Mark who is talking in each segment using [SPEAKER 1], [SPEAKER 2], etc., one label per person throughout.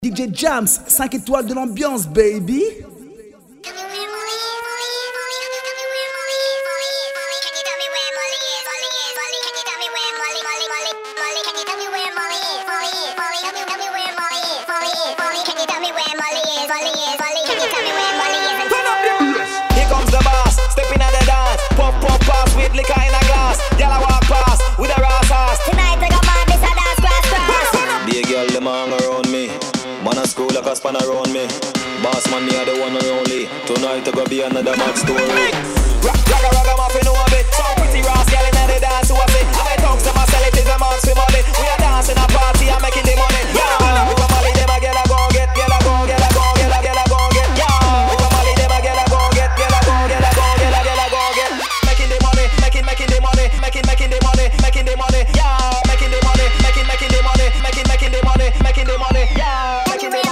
[SPEAKER 1] DJ Jams, 5 étoiles de l'ambiance, baby.
[SPEAKER 2] Here comes the boss, stepping at the dance. Pop, pop, pass with liquor in a glass. Girl, I walk past with a raw sauce.
[SPEAKER 3] Tonight I got my this a dance class.
[SPEAKER 2] Be a girl, them hang around me. Man a school like a span around me. Boss man, me are the one and only. Tonight I go be another mad story. Ragga muffin over bit. Some pretty rass girl in the dance who I say. I talk to myself, it is a marks for money. We are dancing a party, I'm making the money. Yeah, if I'm only them a girl I go get, girl I go get, girl I go get. Yeah, if I'm only them a girl I go get, girl I go get. Making the money, making the money, making the money, making the money. Yeah, making the money, making the money, making the money, making the money. Yeah.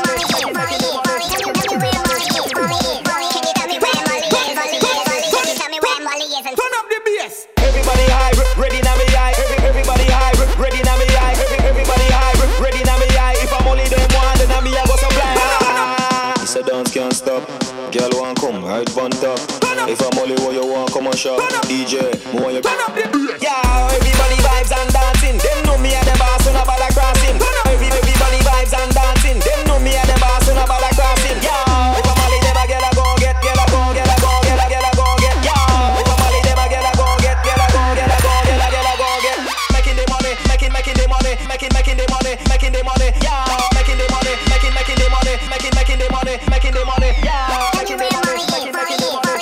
[SPEAKER 1] Turn up the bass.
[SPEAKER 2] Everybody high, ready now me high. Everybody high, ready now me high. Everybody high, ready now me high. If I'm only them one, then I me I go supply. This a dance can't stop. Girl want come right on top. If I'm only what you want, come on shop. DJ, more you.
[SPEAKER 1] Turn up the bass.
[SPEAKER 2] Yeah, everybody vibes and dancing. Them know me and the boss when I bother crossing. Everybody vibes and dancing. Them know me and the boss when I bother crossing. Yeah, if I'm only them a girl I go get, girl I go get, girl I go get. Yeah, if I'm only them a girl I go get, girl I go get, girl I go get. Making the money, making the money, making the money, making the money. Yeah, making the money, making the money, making the money, making the money. Yeah, making the money, making the money.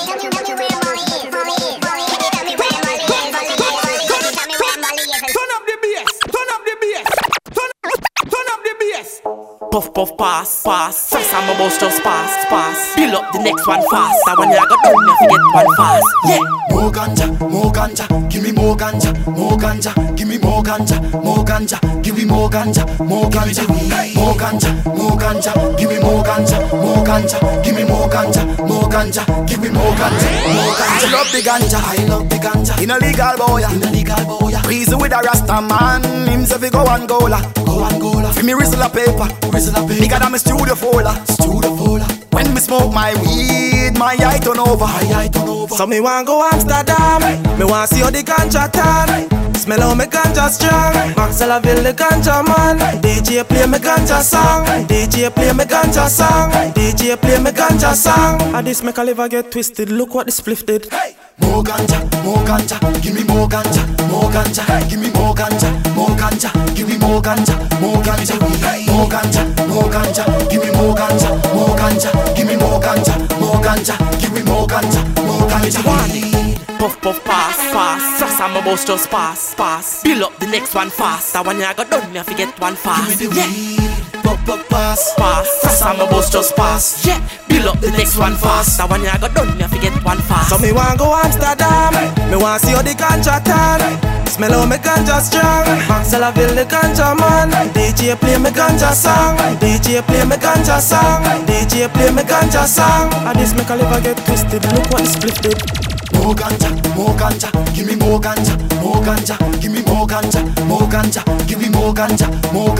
[SPEAKER 1] Turn up the bass. Turn up the bass. Turn up the bass.
[SPEAKER 4] Puff, puff, pass, pass. First I'm about just pass. Build up the next one fast. I when you got done, you forget one fast. Yeah.
[SPEAKER 5] More ganja, give me more ganja, give me more ganja, give me more ganja, more ganja, give me more ganja, give me more ganja, give me more ganja. I love the ganja, in a legal boy, breezy with a rasta man, him say fi go Angola, fi me whistle a paper, bigger than my studio folder. When me smoke my weed, my eye turn over.
[SPEAKER 4] So me want go Amsterdam. Me want see how the ganja tan. Smell how me ganja strong. Maxellaville the ganja man. DJ play me ganja song. DJ play me ganja song. DJ play me ganja song. And this make a liver get twisted. Look what the spliff did.
[SPEAKER 5] More ganja, give me more ganja, give me more ganja, give me more ganja, more ganja, give me more ganja, give me more ganja, give me more ganja.
[SPEAKER 4] Puff, puff, pass. First I'm about just pass. Build up the next one fast. I when you got done, you forget one fast. Yeah.
[SPEAKER 5] Pass.
[SPEAKER 4] First I'm about just pass. Yeah. Build up the next one fast. I when you got done, you forget one fast. So me want go Amsterdam. Me want see how the ganja tan. Smell how me ganja strong. Maxellaville the ganja man. DJ play me ganja song. DJ play me ganja song. DJ play me ganja song. And this make a liver get twisted. Look what the spliff did.
[SPEAKER 5] More ganja, give me more ganja, give me more ganja, give me more ganja,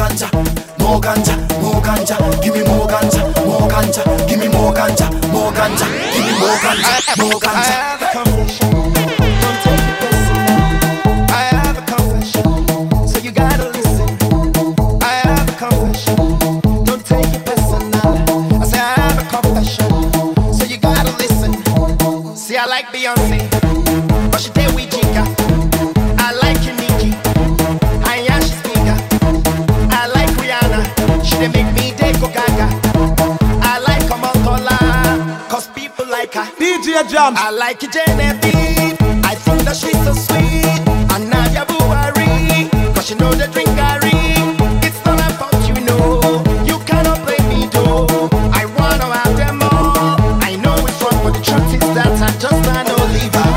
[SPEAKER 5] give me more ganja, give me more ganja, give me more ganja.
[SPEAKER 6] I have a confession, don't take it personal. I have a confession, so you gotta listen. I have a confession, don't take it personal. I say I have a confession, so you gotta listen. See, I like Beyonce, but she did with Jigga. I like Nicki, I am she's bigger. I like Rihanna, she did make me go gaga. I like Kamal, cause people like her.
[SPEAKER 1] DJ Jams.
[SPEAKER 6] I like Genevieve, I think that she's so sweet. And Nadia Buhari, cause she know the drink Gary. It's not about you cannot play me though. I wanna have them all. I know it's wrong, but the truth is that I just can't Oliver.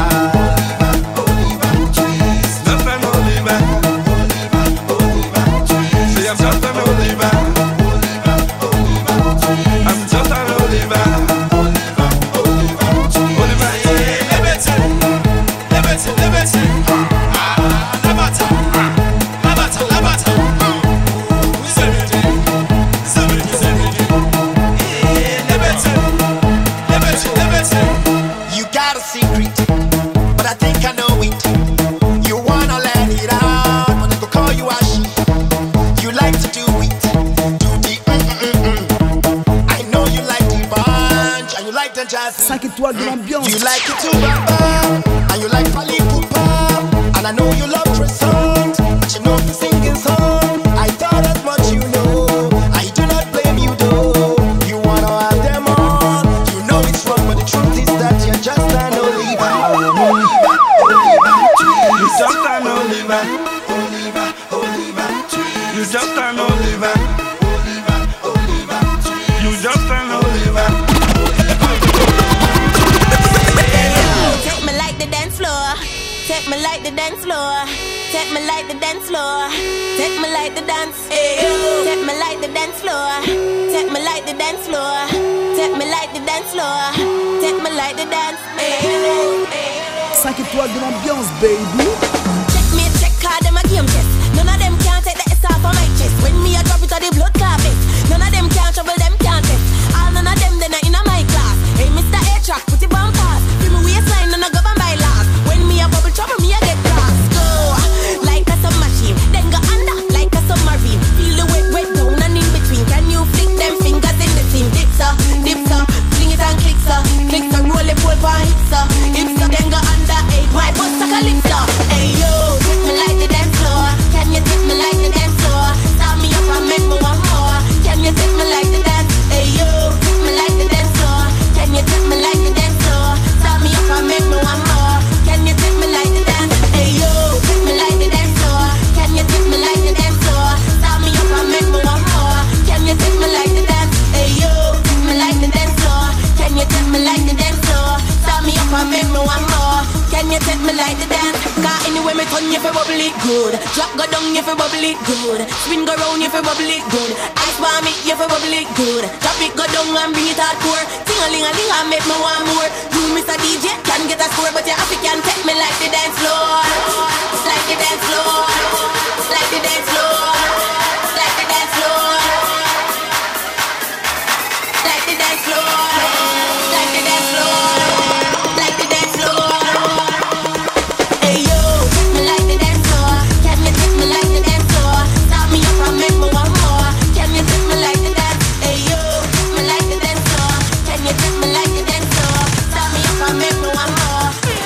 [SPEAKER 7] Just an Oliver. See, I'm just an Oliver. I'm just an Oliver. Oliver, yeah, liberty.
[SPEAKER 5] jazz.
[SPEAKER 4] 5 étoiles de l'ambiance.
[SPEAKER 5] You like it too, Baba, and you like Fally Ipupa, and I know you love croissant, but you know the singing song. I thought as much, you know. I do not blame you though. You wanna have them all. You know it's wrong, but the truth is that you're just an Oliver.
[SPEAKER 7] You just an Oliver. You just an Oliver. You just an Oliver.
[SPEAKER 3] Take me like the dance floor. Take me like the dance floor. Take me like the dance floor. Take me like the dance. Take me like the dance floor. Take me like the dance floor. Take me like the dance floor. Take me like the dance.
[SPEAKER 4] 5 étoiles de l'ambiance, baby.
[SPEAKER 3] Check me, check card, them a game chest. None of them can take the S off of my chest. When me a drop it on the blood carpet. None of them can trouble, them can't test. All none of them, they not in a my class. Hey, Mr. A-Track, put it on pass. Feel me waistline, none of govern by last. When me a bubble trouble, me a get grass. Go, like a submachine. Then go under, like a submarine. Feel the wet, wet down and in between. Can you flick them fingers in the seam? Dips up, fling it and clicks up. Clicks up, roll it, pull for hips up. Hips up, then go under, hey, my bust a calypso. Hey, yo, take me like the dance floor. Can you take me like the dance floor? Start me up and make me one more. Can you take me like the dance? Hey, yo, take me like the dance floor. Can you take me like the dance floor? Start me up and make me one more. Can you take me like the dance? Hey, yo, take me like the dance floor. Can you take me like the dance floor? Start me up and make me one more. Can you take me like the dance? Hey, yo, take me like the dance floor. Can you take me like the dance floor? Start me up and make me one more. Can you take me like the dance? Cause anyway me turn you fi bubble it good. Drop go down you fi bubble it good. Spin go round you fi bubble it good. Ice bomb it you fi bubble it good. Drop it go down and bring it hardcore. Ting-a-ling-a-ling and make me want more. You Mr. DJ can get a score, but you have to can take me like the dance floor. Like the dance floor. Like the dance floor. Like the dance floor. Like the dance floor. Like the dance floor. Like the dance floor. Hey yo, take me like the dance floor. Can you take me like the dance floor? Start me up and make me one more. Can you take me like the dance? Hey yo, take me like the dance floor. Can you take me like the dance floor? Start me up and make me one more.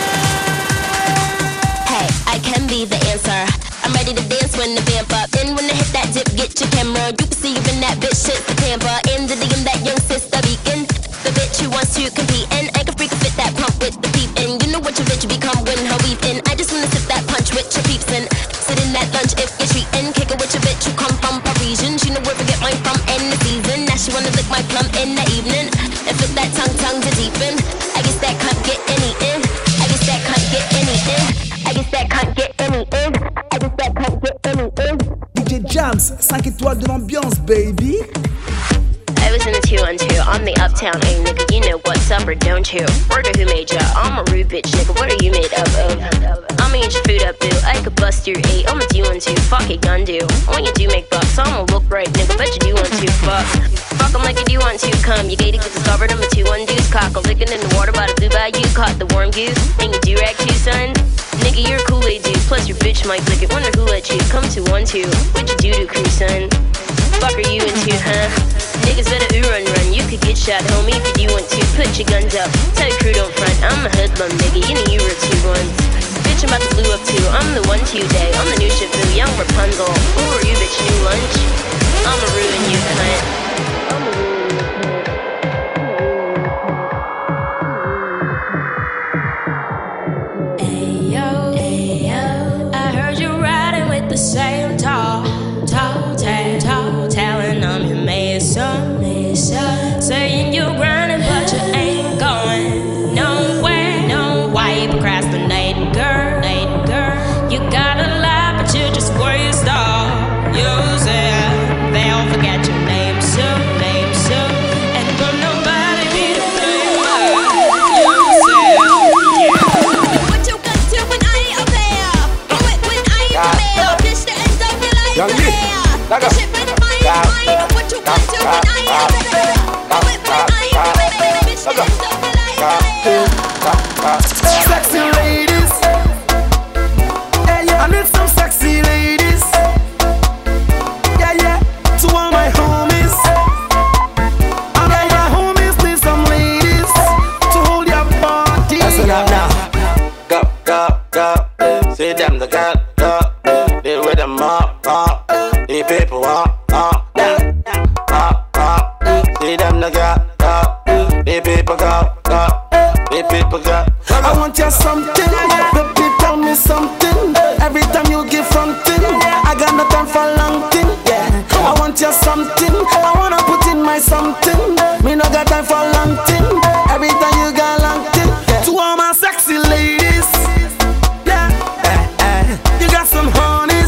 [SPEAKER 3] Hey, I can be the answer. I'm ready to dance when the vamp up. Then when I hit that dip, get your camera. You can see you in that bitch shit the Tampa. In the DM, that young sister beacon. The bitch who wants to compete. And I can freak fit that pump with the peep. And you know what your bitch become when her weep in. I just wanna sip that punch with your peeps and sit in that lunch if you're treating. Kick it with your bitch who come from Parisian. She know where to get mine from in the season. Now she wanna lick my plum in the evening. And fit that tongue to deepen. I guess that can't get any in. I guess that can't get any in. I guess that can't get any in. I guess that can't get any in.
[SPEAKER 4] DJ Jams, 5 étoiles de l'ambiance, baby.
[SPEAKER 3] I was in the 212, I'm the uptown A nigga, you know what's up or don't you? Word of who made ya? I'm a rude bitch nigga, what are you made up of? I'ma eat your food up boo, I could bust your 8, I'ma do 1 2, fuck it gun do. When you do make bucks, I'ma look right nigga, bet you do want to fuck. Fuck 'em like you do want to come, you gated get discovered, I'm a 2-1 deuce cock. I'm licking in the water by the blue bayou, caught the warm goose, and you do rag too son. Nigga you're a Kool-Aid dude, plus your bitch might lick it, wonder who let you come to 1 2, what you do to crew son? Fuck are you into, huh? Niggas better run, you could get shot, homie, if you do want to. Put your guns up, tell your crew don't front. I'm a hoodlum, nigga, you know you were 2-1. Bitch, I'm about to blue up too, I'm the 1 today. I'm the new Shifu, young Rapunzel. Who are you, bitch, new lunch? I'ma ruin you, cunt.
[SPEAKER 8] The same tall talent, I'm your mason, saying you're grinding but you ain't going nowhere. No, why you procrastinating, girl? You got a lot but you just waste all. Use it, they'll forget your name soon.
[SPEAKER 9] see them no girl, the people girl, the people girl.
[SPEAKER 4] I want you something, baby, tell me something. Every time you give something, I got no time for long thing. Yeah, I want you something, I wanna put in my something. Me no got time for long thing. Every time you got long thing. Yeah. To all my sexy ladies, yeah, you got some honeys.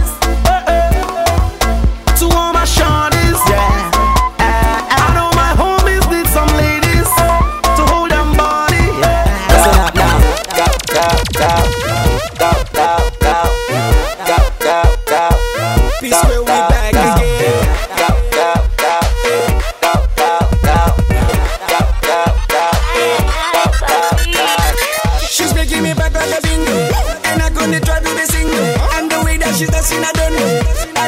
[SPEAKER 4] To all my shorties, yeah. I know my homies need some ladies to hold them body. Yeah. Peace where we back again. She's making me back like a bingo, and I'm gonna try to be single. And the way that she's dancing, I don't know.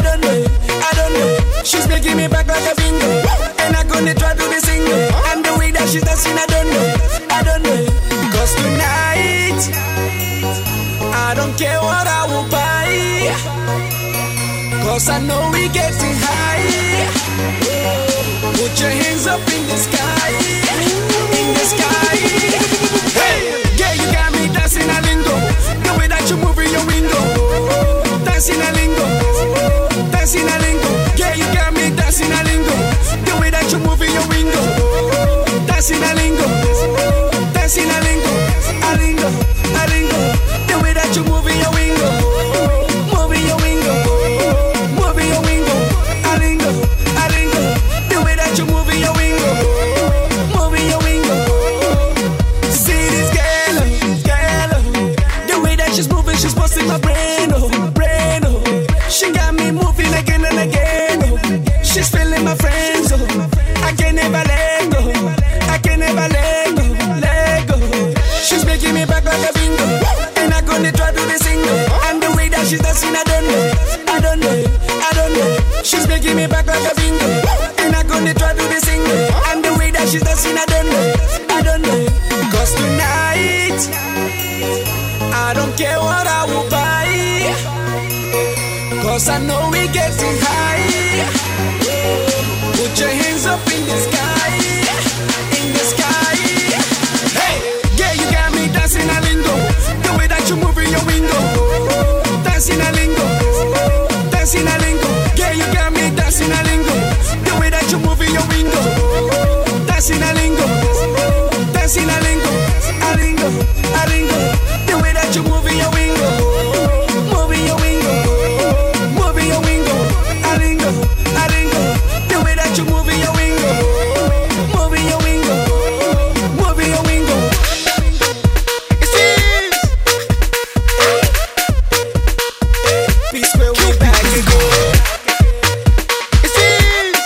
[SPEAKER 4] She's making me back like a bingo, and I'm gonna try to be single. And the way that she's dancing, I don't know. Because tonight, I don't care what I will buy, cause I know we getting high. Put your hands up in the sky, in the sky. Hey, yeah, you got me dancing a lingo. The way that you move in your window, dancing a lingo, dancing a lingo. Yeah, you got me dancing a lingo. The way that you move in your window, dancing a lingo, dancing a lingo, a lingo, a lingo. The way that you move in your window, moving your window, moving your window, a lingo, a lingo. The way that you move in your window, moving your window. See this girl, the way that she's moving, she's busting my brain, oh. She got me moving again and again, oh. She's feeling my friends, oh. I can never let go, I can never let go. She's making me back like a bingo, and I'm gonna try to be single. And the way that she's dancing, I don't know. She's making me back like a bingo, and I'm gonna try to be single. And the way that she's dancing, I don't know. Cause tonight, I don't care what I will buy, cause I know we getting high. Put your hands up in the sky, in the sky. Hey, yeah, you got me dancing a lingo. The way that you move in your window, dancing a lingo, dancing a lingo. Yeah, you got me dancing a lingo. The way that you move in your window, dancing a lingo, dancing a lingo, a lingo, a lingo. The way that you move in your window, moving your window, moving your window, a lingo, a lingo. The way that you move in your window, moving your window, moving your window. It seems peace where we back again. It seems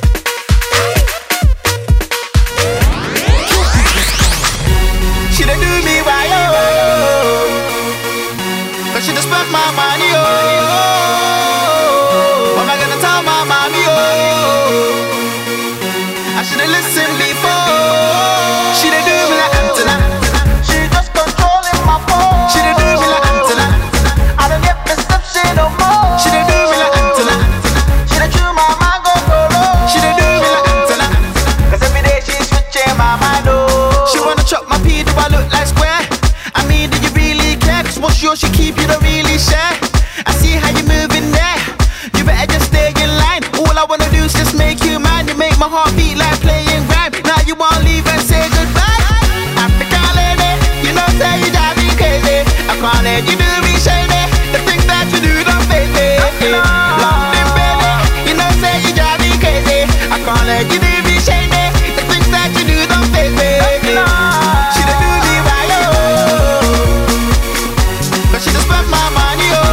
[SPEAKER 4] she done do me right, oh, but she done spent my money, oh. What am I gonna tell my mommy, oh? I should've listened before. She done do me like Antenna. She just controlling my phone. She done do me like Antenna. I don't get perception no more. She done do me like Antenna. She done chew my mango polo. She done do me like Antenna. Cause every day she's switching my mind, oh. She wanna chop my pee, do I look like square? I mean, do you really care? Cause what's yours she keep, you don't really share. I see how you moving there. You better just stay in line. All I wanna do is just make you mine. You make my heart beat like playing rhyme. Now you wanna leave and say goodbye. African lady, you know say you drive me crazy. I can't let you do me shady. The things that you do don't faze me. London baby, you know say you drive me crazy. I can't let you do me shady. The things that you do don't faze me. She done do me right, oh, but she just spent my money, oh.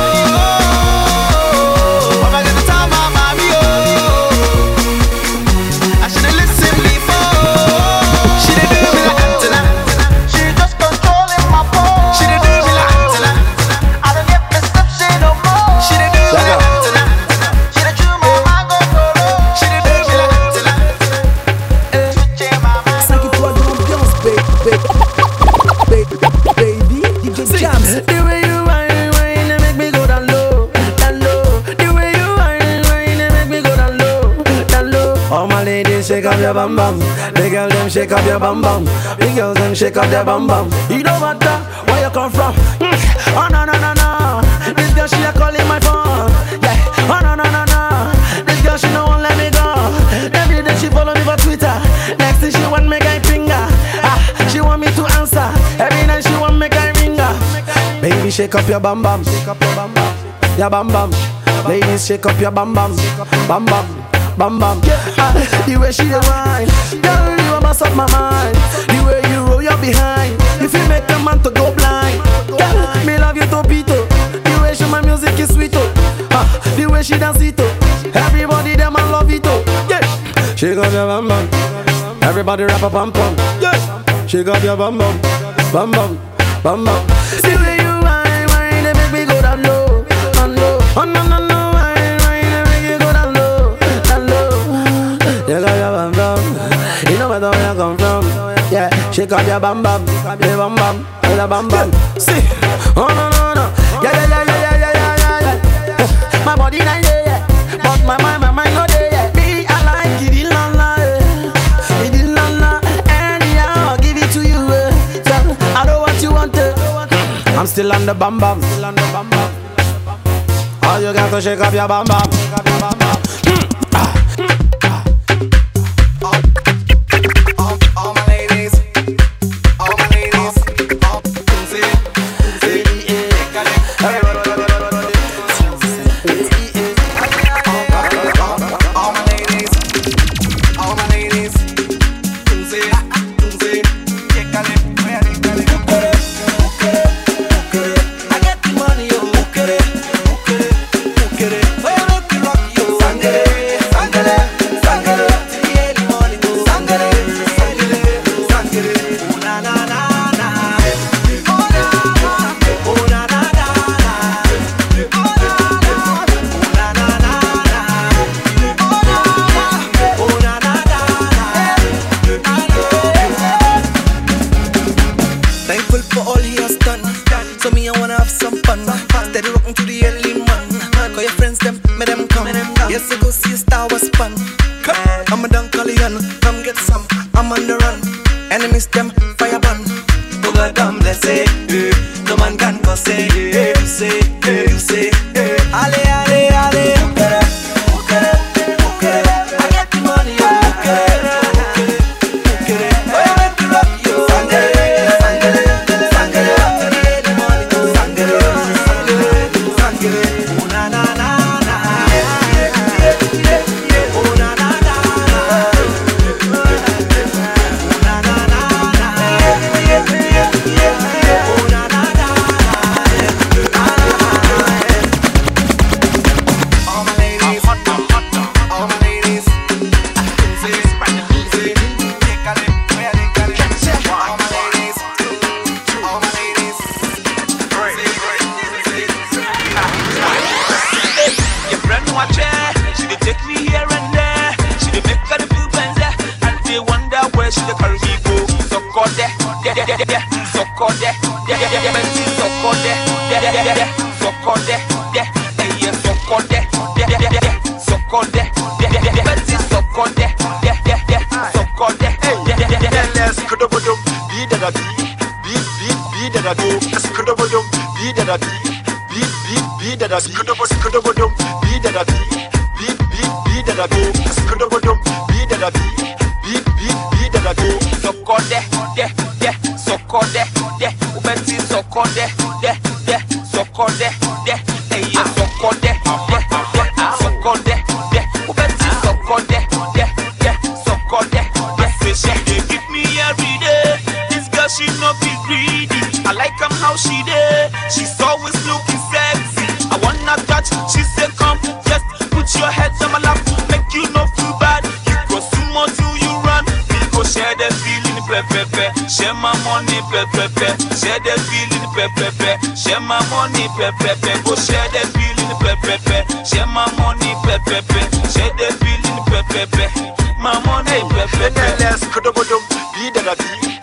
[SPEAKER 4] What am I gonna tell my mommy, oh? I should've Ladies, shake up your bum bum. The girl them shake up your bum bum. The girls them shake up their bum bum. You don't matter where you come from. Oh no no no no. This girl she a calling my phone. Yeah. Oh no no no no. This girl she no won't let me go. Every day she follow me for Twitter. Next thing she want me guy finger. She want me to answer. Every night she want me guy ringer. Baby shake up your bum bum. Shake up your bum bum. Your bum bum. Ladies shake up your bum bum. Bum bum. Bam bam, the way she dey whine, girl you a mess up my mind. The way you roll your behind, if you make a man to go blind. Girl, me love you topito. The way she my music is sweet oh. The way she dance it oh. Everybody them I love it oh. Yeah, shake up your bam bam. Everybody rap a pam pam. Yeah, shake up your bam bam, bam bam, bam bam. The way you whine, they make me go down low, down low. Oh no no no. You know where you come from. Yeah, shake up your bam bam, the bam bam, the bam bam. See, oh no no no, yeah. My body not there, but my mind not there. Me I like it, la la, it la la. Anyhow I'll give it to you. So I know what you want. I'm still on the bam bam, still on the bam bam. All you got to shake up your bam bam, shake up your bam bam.
[SPEAKER 10] Share my money, share the feeling, share my money, go share the feeling, share my money, share the feeling, my money, let's go to the be that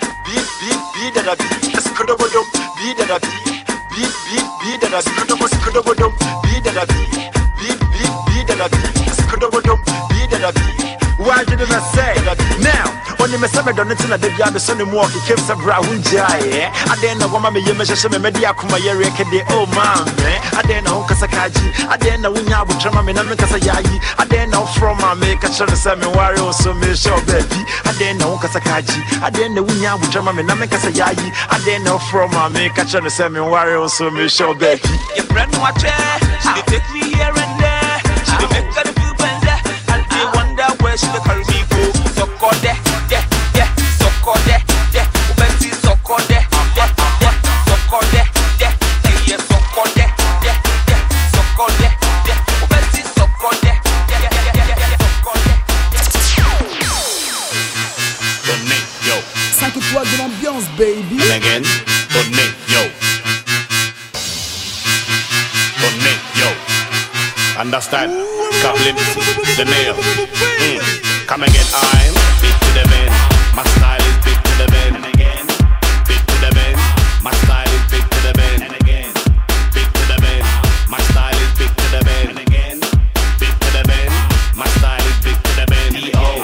[SPEAKER 10] be that let's go to the be that be that let's go to the be that be that let's go to the be that. Why did I say?
[SPEAKER 11] me say me don't na de bia be so ne mu ok kem say bra hunja ye ade na woma me ye me hye me media akoma ye rekede oh man ade na ho kasa kaji ade na wunya abutrama me na me kasa yayi ade na from ma me ka chere say me ware so me show baby ade na ho kasa kaji ade na wunya abutrama me na me kasa yayi ade na from ma me ka chere say me ware so me show baby
[SPEAKER 10] your friend watch she dey take me here and there she dey make me feel better and I wonder where she dey carry me go so call there so call there ubenti so call there so call there yeah so call there so call there ubenti so call there so call there
[SPEAKER 12] donne yo
[SPEAKER 5] 5 étoiles de l'ambiance baby
[SPEAKER 12] and again donne yo donne yo understand Kaplin the nail come again I'm big to the man my style is big to the man and again big to the man my style is big to the man and again big to the man my style is big to the man and again big to the man my style is big to the man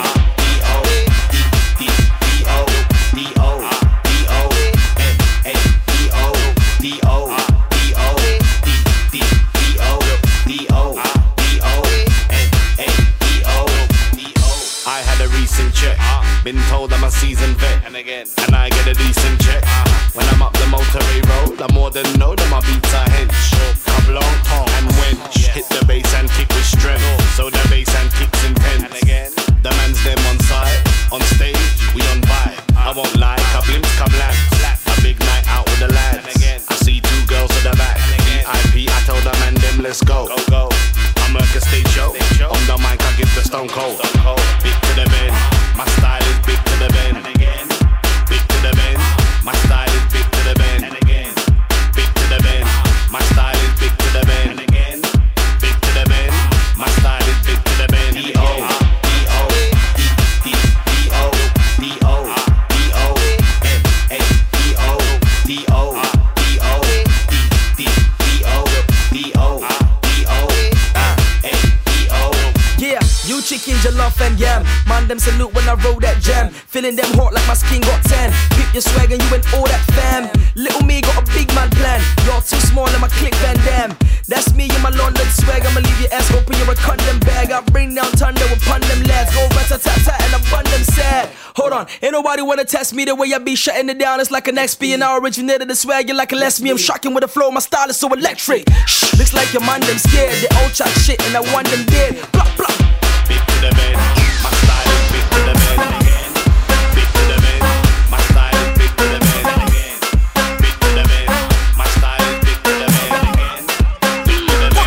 [SPEAKER 12] I had a recent check. Been told I'm a seasoned vet, and I get a decent check. When I'm up the motorway road, I more than know that my beats are hench. Come long, tongue and wench. Hit the bass and kick with strength, so the bass and kicks intense. The man's them on side, on stage, we on vibe. I won't lie, kablims, kablans. A big night out with the lads. I see 2 girls at the back. VIP, I told the man them let's go. I'm like a stage show. On the mic, I give the stone cold. Big to the man, my style is big to the man. Big to the man, my style is big to the man. Big to the man, my style is big to the man. Big to the man, my style is big to the man.
[SPEAKER 4] You chicken, jollof and yam. Man, them salute when I roll that jam. Feeling them hot like my skin got tan. Peep your swag and you and all that fam. Little me got a big man plan. You're too small and my click Van Dam. That's me in my London swag. I'ma leave your ass open, you're a condom bag. I bring down thunder upon them lads. Go rat-a-tat-tat and I run them sad. Hold on, ain't nobody wanna test me the way I be shutting it down. It's like an XP and I originated the swag. You're like a less me. I'm shocking with the flow. My style is so electric. Shh, looks like your man them scared. They all chat shit and I want them dead. Blah blah.
[SPEAKER 12] Big to the man, my style is big to the man. Big to the man, my style is big to the man. Big to the man, my style is big to the man. Big to the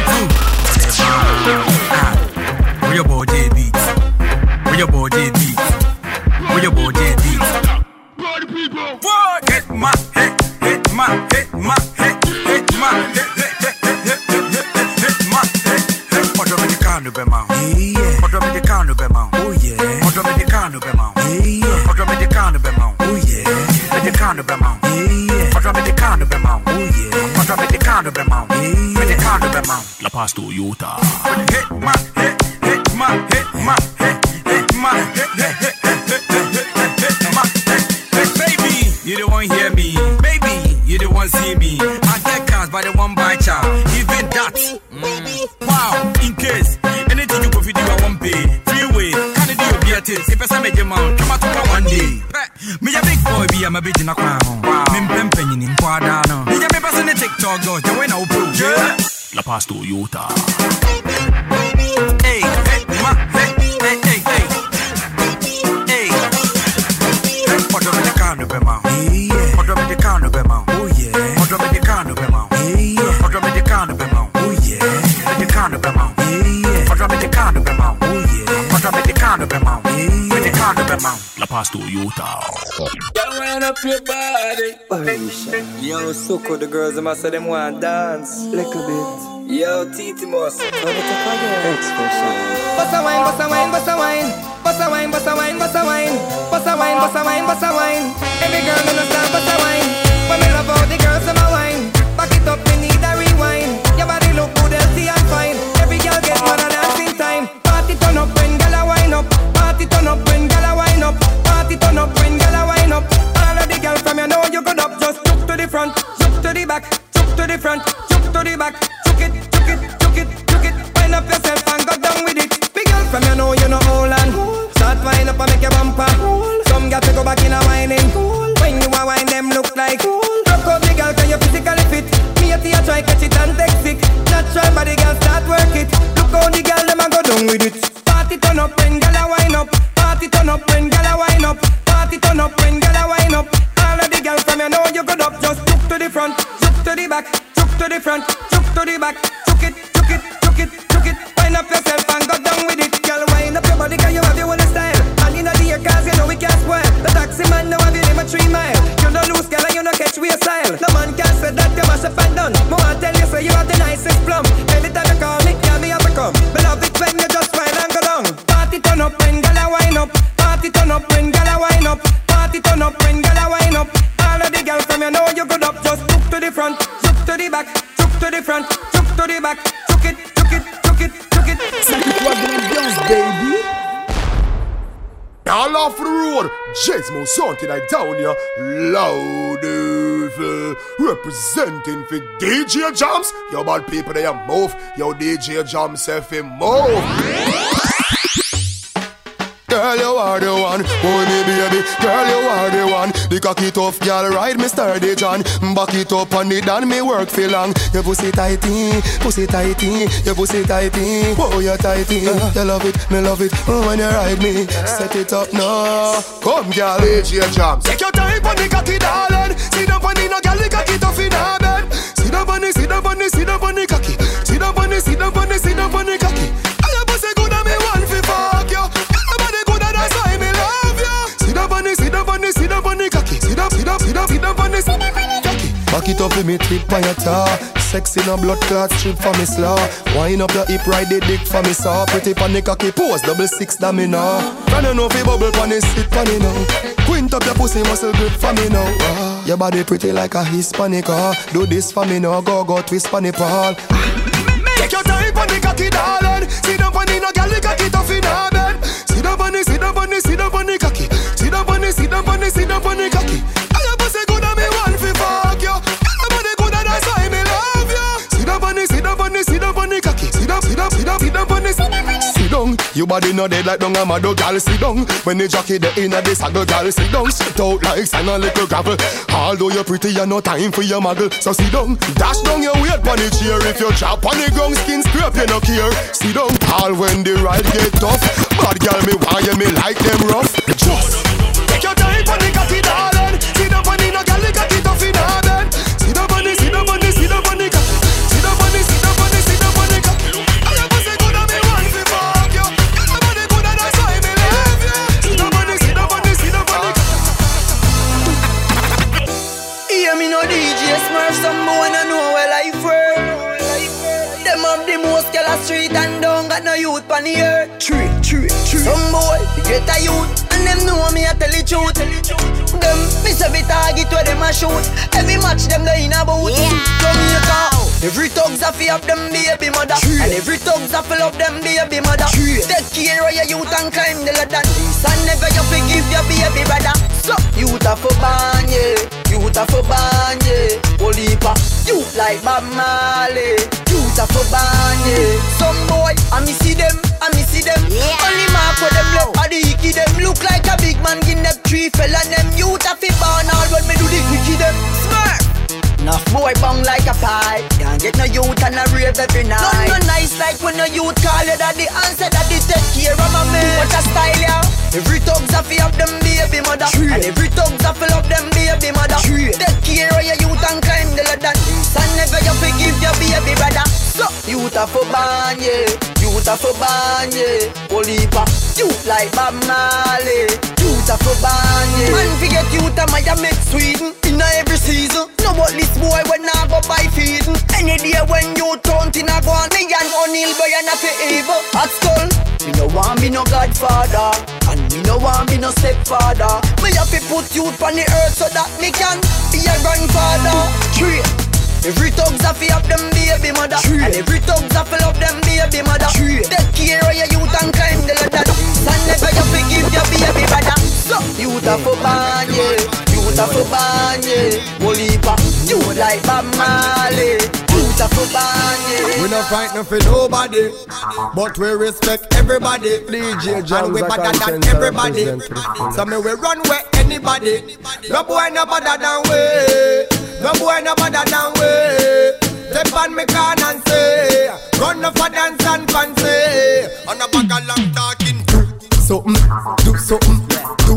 [SPEAKER 12] man.
[SPEAKER 13] Where your body beats? Where your body beats? Where your body beats? Party people, what? Hit my head, hit my head, my head, hit my head, hit my head. What do you can't do, man? What do you can't do, man? Oh yeah. What do you can't do, man? Yeah. What do you can't do, man? Oh yeah. What you can't do, man? Yeah. What do you can't do, man? Oh yeah. What do you can't do, man? Yeah. What you can't do, man?
[SPEAKER 12] La Pasto Utah.
[SPEAKER 13] Hit my head, hit my head, my head, hit my head, hit my head. Baby, you don't want hear me. Baby, you don't want see me. I get cars by the one by child. Even that. Wow, in case anything you go for do, I won't pay. Freeway, can you do your beatis? If I say make your mouth, come out to one day. Me a big boy, be a bitch in a crown. Me penny in Quadano. Me a me person in TikTok, go to win our pro.
[SPEAKER 12] La Pasto Utah.
[SPEAKER 13] Hey, hey, ma, hey, hey, hey, hey. Hey. What do you can't do, man? Yeah. What do you can't do, man? Oh yeah. What do you can't do, man? Yeah. What do you can't do, man? Oh yeah. What do you can't do, man? Yeah. What do you can't do, man? Oh yeah. What do you can't do, man? Yeah. What you can't do, man?
[SPEAKER 12] La Pasto Utah.
[SPEAKER 14] Girl, wind up your body. Yo, Suko, the girls, them say them want dance. Little bit. Yo, Titi Moss. Turn it up again. Expression.
[SPEAKER 15] Bossa wine, bossa wine, bossa wine. Bossa wine, bossa wine, bossa wine. Bossa wine, bossa wine, bossa wine. Every girl gonna start bossa wine. But me love all the girls in my wine. Back it up, me need a rewind. Your body look good, healthy and fine. Every girl get more than dancing time. Party turn up when gala wine up. Party turn up when gala wine up. Party turn up up when girl a wine up. All of the girls from you know you good up. Just look to the front, look to the back, look to the front, look to the back. Chuck it, chuck it, chuck it, chuck it. Wind up yourself and go down with it. Girl, wind up your body 'cause you have your own style. And you know the cars, you know we can't spoil. The taxi man now have you name a 3 mile. You don't lose, girl, and you don't catch with style. No man can say that you must have been done. More I tell you, say you have the nicest plum. Anytime you call me, yeah, me have to come. Me love it when you just wind and go down. Party turn up when girl a wind up. Party turn up when girl a wind up. Party turn up when girl a wind up. All of the girls from you know you good up. Just look to the front, look to the back, look to the front, look to the back. Chuck it, chuck it, chuck it, chuck it.
[SPEAKER 5] Suck it was the girls, baby. All off the road, Jesmo Santi like down here, loud representing for DJ Jams. Yo bad people they move, yo DJ Jams say fi move. Girl, you are the one, oh me baby. Girl, you are the one. The cocky tough girl, ride me sturdy John. Back it up on it and me work for long. Your pussy tighty, pussy tighty. Your pussy tighty, oh you tighty. You love it, me love it, oh when you ride me. Set it up now. Come girl, DJ Jams. Take your time on the cocky darling. Sit down on the no girl, the cocky tough in her bed. Sit down on the, sit down on the, sit down on the cocky. Sit down on the, sit down on the, sit down on the cocky. I your pussy good and me want fi fuck you. That's why me love you. Sit up on the, sit up on the, sit up on the cocky. Sit up, sit up, sit up, sit up on the cocky. Back it up with me tip on your tar. Sexy no blood clot strip for me slaw. Wind up your hip, ride the dick for me saw. Pretty pon the cocky pose, 6 that me now. Can you know fi bubble pon the sit pon it now. Quint up your pussy muscle grip for me now. Your body pretty like a Hispanic. Do this for me now, go twist pon the pole. Take your time pon the cocky darling. Sit down pon the no girl, the cocky tough in her bed. Sit down on the, sit down on the, sit down on the cocky. Sit down on the, sit down on the, sit down on the cocky. I your pussy good and me want fi fuck you. Your body good and that's why me love you. Sit down on the, sit down on the, sit down on the cocky. Sit down, sit down, sit down, sit down on the. Sit down, your body no dead like dung a mad girl. Sit down, when the jockey the inna the saddle, girl. Sit down, sit out like sand and little gravel. Although you're pretty, you no time for your muggle. So sit down, dash down your weight pon the chair. If you chop on the ground, skin scrape you no care. Sit down, all when the ride get tough. Bad girl, me want you, me like them rough. Just take your time for the cocky, darling. Sit down on the no girl, the cocky tough in her bed. Sit down on the, sit down on the, sit down on the cocky. Sit down on the, sit down on the, sit down on the cocky. I your pussy good and me want to fuck you. Your body good and that's why me love you. Sit down on the, sit down on the, sit down on the cocky.
[SPEAKER 15] Hear me no DJ Smurf, some boy no know where life work. Them up the most girl a street and don't got no youth on the earth. Tree. Some boy get a youth and them know me a tell the truth. Them miss every target where them a shoot. Every match them they in a boot. Jamaica, every thugs a fi up them baby mother. And every thugs a fill up them baby mother. Take care of your youth and climb the ladder. And never you forgive your baby brother. So youth a for ban, yeah. Youth a for ban, yeah. Olipa, youth like Bob Marley. Youth a for ban, yeah. Some boy, I me see them. Only mark for them left or the hickey them. Look like a big man give them 3 fella. Them youth a fi ban all when me do the quickie them. Smart. Enough boy bang like a pie. Can't get no youth and a rave every night. None no nice like when no youth call you daddy. Answer daddy take care of my man. What a style ya. Every thugs a fi up them baby mother. And every thugs a fill up them baby mother. Take care of your youth and climb the ladder. And never you forgive your baby brother. So youth a for ban, yeah. Youth a for ban, yeah. Olipa, youth like Bob Marley. Youth a for ban, yeah. Man forget youth a my make Sweden. In every season. No but this boy when I go buy feeding. Any day when you turn in a go on. Me and O'Neal boy and a fi evil. At school, me no want be no godfather. And me no want be no stepfather. Me have to put youth on the earth so that me can be a grandfather. Tree. Every thugs a fi up them baby mother. And every thugs a fill up them baby mother. Take care of your youth and climb the ladder. And never you forgive your baby brother. So youth a for ban, yeah. Youth a for ban, yeah. Olipa, youth like Bob Marley. Youth a for ban, yeah.
[SPEAKER 5] We not frightened for nobody, but we respect everybody. DJ Jams and we better than everybody. So me we run where anybody. No boy no better than we. No boy no better than we. Step on me can and say, run off a dance and fancy. On a bag of long talking. Something, do something, do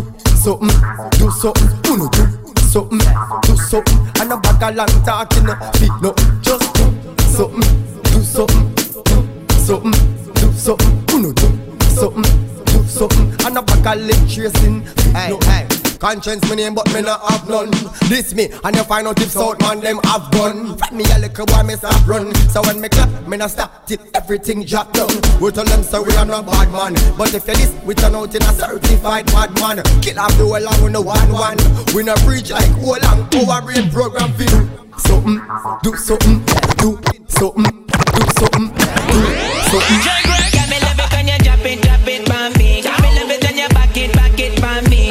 [SPEAKER 4] something, do something, uno do something, do something. And a bag of long talking, no feet, no, just do something, do something, do something, do something, uno do something, do something. And a bag of leg tracing, feet, no. Conscience my name but me not have none. This me and you find out if South man them have gun. Find me a little boy me stop run. So when me clap me not stop till everything drop down. We tell them so we are not bad man. But if you this we turn out in a certified bad man. Kill off the whole and we no 1-1. We no preach like whole and our brain program for do something, do something, do something, do something, do something.
[SPEAKER 16] Got me love it when you drop it for me. Got me love it when you back it for me.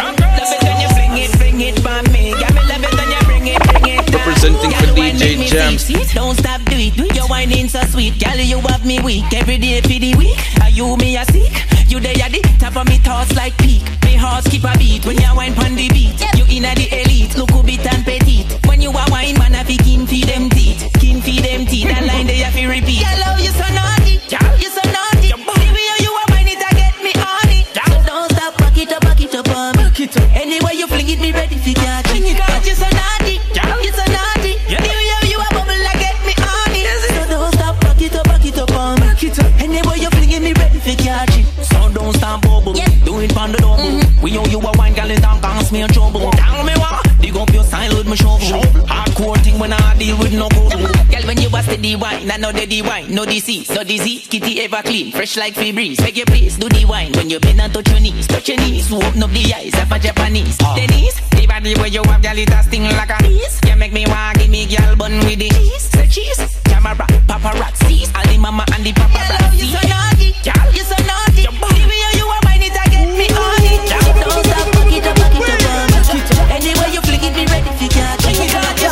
[SPEAKER 17] Representing for DJ Jams.
[SPEAKER 16] Don't stop do it. Your whining so sweet, girl. You have me weak every day for the week. Are you me a sick? You there at the top of me thoughts like peak. Me heart skip a beat when you whine pon the beat. You inna the elite, look a bit and petite. When you a wine man, I fi kin feed them teeth. Kin feed them teeth. That line they have to repeat. I love you so naughty, you so naughty. The way you a whine it, I get me on it. So don't stop, back it up on me. Anyway you fling it, me ready for catch it. Cause you so naughty, you so naughty. The way you a bubble, I get me on it. So don't stop, back it up on me. Anyway you fling it, me ready for catch it. So don't stop, bubble, do it on the double. We owe you a wine, girl, and don't cause me a trouble. Tell me what, dig up your style with my shovel. Hardcore thing when I deal with no gold. Girl, when you a steady wine, I know the wine, no disease, kitty ever clean, fresh like Febreze. Beg you please, do the wine when you bend and touch your knees, so open up the eyes of a Japanese. Denise, the body where you have, girl, it a sting like a bees. You make me want give me girl bun with the cheese. Say cheese, camera, paparazzi, all the mama and the paparazzi. You so naughty, you so naughty. The way you a wine it, I get me on it. Don't stop, back it up on me. Anyway you flick it, be ready for catch it. You so naughty,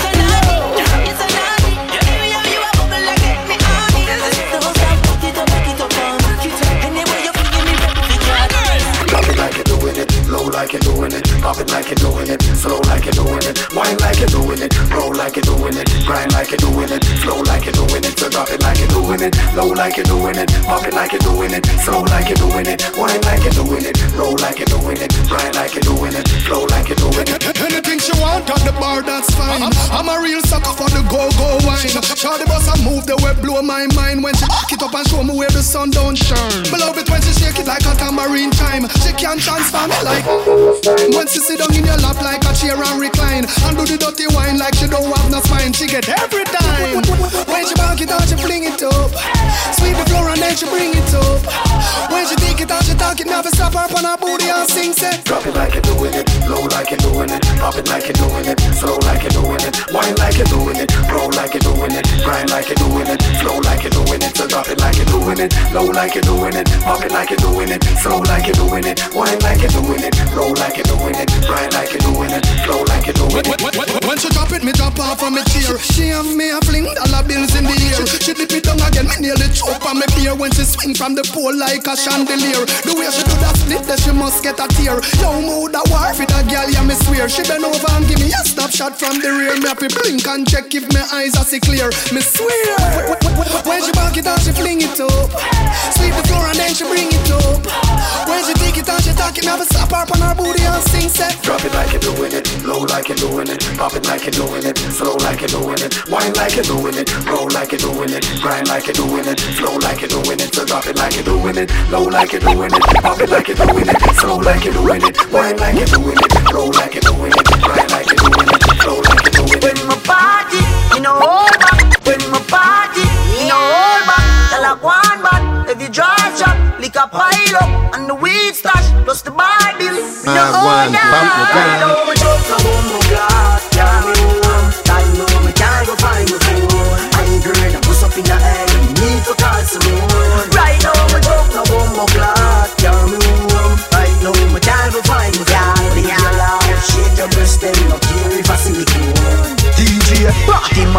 [SPEAKER 16] you so naughty. The way you a bubble, I get me on it. Don't stop, back it up on me. Anyway you flick it, be ready for catch it.
[SPEAKER 5] Pop it like you're doing it, low like you're doing it. Pop it like you're doing it, slow like you're doing it. Wine like you're doing it, roll like you're doing it. Grind like you're doing it, slow like you're doing it. So drop it like you're doing it, low like you're doing it. Pop it like you're doing it, slow like you're doing it. Wine like you're doing it, roll like you're doing it. Grind like you're doing it, slow like you're doing it.
[SPEAKER 18] Anything she want at the bar, that's fine. I'm a real sucker for the go-go wine. Shawty boss a move the way blow my mind. When she back it up and show me where the sun don't shine. Love it when she shake it like a tambourine time. She can transform it like when she sit down in your lap like a chair and recline. And do the dirty wine like she don't have no spine. She get every time. When she back it out, she fling it up. Sweep the floor and then she bring it up. When she take it out, she talk it, never stop her on her booty and sing set.
[SPEAKER 5] Drop it like you're doing it, low like you're doing it. Pop it like you're doing it, slow like you're doing it. Wine like you're doing it, roll like you're doing it. Grind like you're doing it, slow like you're doing it. So drop it like you're doing it, low like you're doing it. Pop it like you're doing it, slow like you're doing it. Wine like you're doing it, roll like you're doing it. Grind like you're doing it, slow like you're doing it.
[SPEAKER 18] When she drop it, me drop off on me chair. She have me a fling dollar bills in the air. She dip it down again, me nearly choke on me beer. When she swing from the pole like a chandelier. The way she do that split, that she must get a tear. Yo, mood a war for that girl, yeah, me swear. She bend over and give me a snapshot from the rear. Me happy blink and check if my eyes are see clear. Me swear. When she back it out, she fling it up. Sweep the floor and then she bring it up. When she take it out, she talk it, never stop her on her booty and sing set.
[SPEAKER 5] Drop it like you're doing it, low like you're doing it. Pop it like you're doing it, slow like you're doing it. Wine like you're doing it, roll like you're doing it. Grind like you're doing it, slow like you're doing it. So drop it like you're doing it, low like you're doing it. Pop it like you're doing it, slow like you're doing it. Wine like you're doing it, roll like you're doing it. Grind like you're doing it, slow like you're doing it.
[SPEAKER 19] When my party, you know all back. When my party, you know all back. Tell like one back, if you drive shop, lick a pile up, and the weed stash, plus the bar bill. You know all that. I know my joke, I want my glass, yeah, me warm. I know me can't go find my phone. I'm girl, I push up in the air, you need to call someone. Right now my joke, I want my glass, yeah, me warm. I know me can't go find my phone. Shake your breast, then no care if I see me cool.
[SPEAKER 5] DJ Party Man.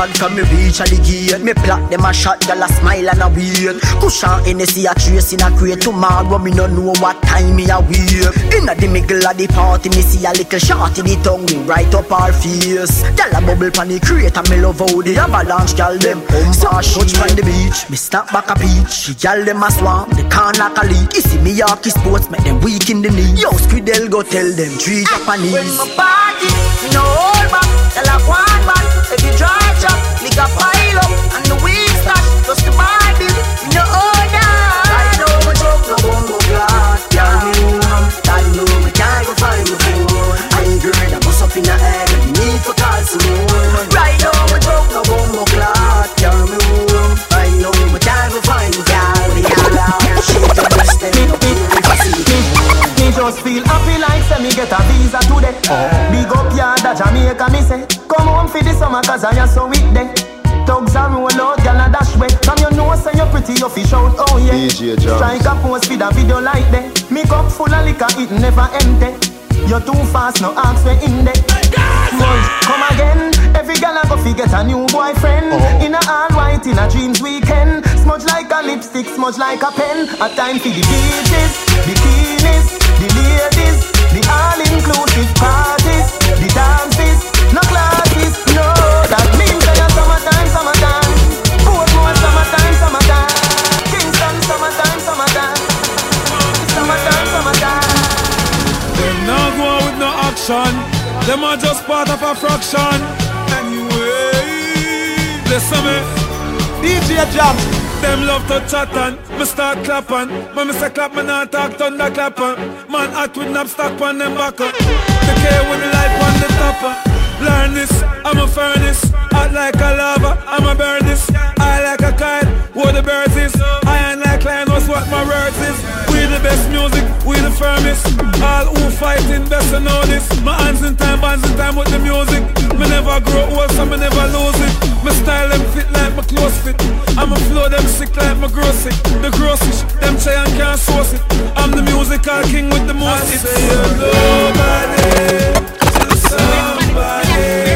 [SPEAKER 19] hard from me reach at the gate. Me plot them a shot, girl a smile and a wait. Cushion Hennessy a trace in a crate. Tomorrow me no know what time me a wait. Inna the middle of the party me see a little shot in the tongue ring right up her face. Girl a bubble pan the crate and me love how the avalanche girl them so touch from the beach. Me snap back a peach. The girl them a swam, the can like a leak. You see me Yorkie sports make them weak in the knee. Yo Squidel go tell them treat Japanese.
[SPEAKER 3] When my party, me no hold back. Tell a one back, if you drive chop, lick a pile up and the weed stash. Just the Bible, me no hold that.
[SPEAKER 19] I know my joke no bongo glass. Tell me I know me can't go find my phone. I ain't girl that bust up in the head and you need to call someone. Right now my joke no bongo glass. Tell me I know me can't go find my girl. Shake the breast and no
[SPEAKER 15] me just feel happy like say me get a visa today. Big up yard at Jamaica me say. Come home for the summer cause I am so weak there. Thugs are roll out, gal a dash way. From your nose say you're pretty, you fish out, oh yeah.
[SPEAKER 11] DJ Jams.
[SPEAKER 15] Strike a pose for the video like that. Me cup full of liquor, it never empty. You're too fast, no ask me in there. Smudge, come again. Every gal a go fi get a new boyfriend. In a all white, in a dreams weekend. Smudge like a lipstick, smudge like a pen. A time for the beaches, bikinis, the ladies, the all-inclusive parties, the dances, no classes, no. That means that you're summertime, summertime. Portmore, summertime, summertime. Kingston, summertime, summertime. Summertime, summertime.
[SPEAKER 13] Them now go out with no action. Them are just part of a fraction. Anyway, listen me. DJ Jam. Them love to chat and me start clapping. When me say clap, me not talk thunder clapping. Man hot with nap stock on them back up. The care with the light on the topper. Learn this, I'm a furnace. Hot like a lava, I'm a burn this. I like a kite, what the birds is. I ain't like lion, what's what my words is. We the best music, we the firmest. All who fighting best to know this. My hands in time, bands in time with the music. Me never grow old, so me never lose it. My style them fit like my clothes fit. I'm a flow them sick like my grow sick. The grossish, them try and can't source it. I'm the musical king with the most hits. I say you're nobody to somebody.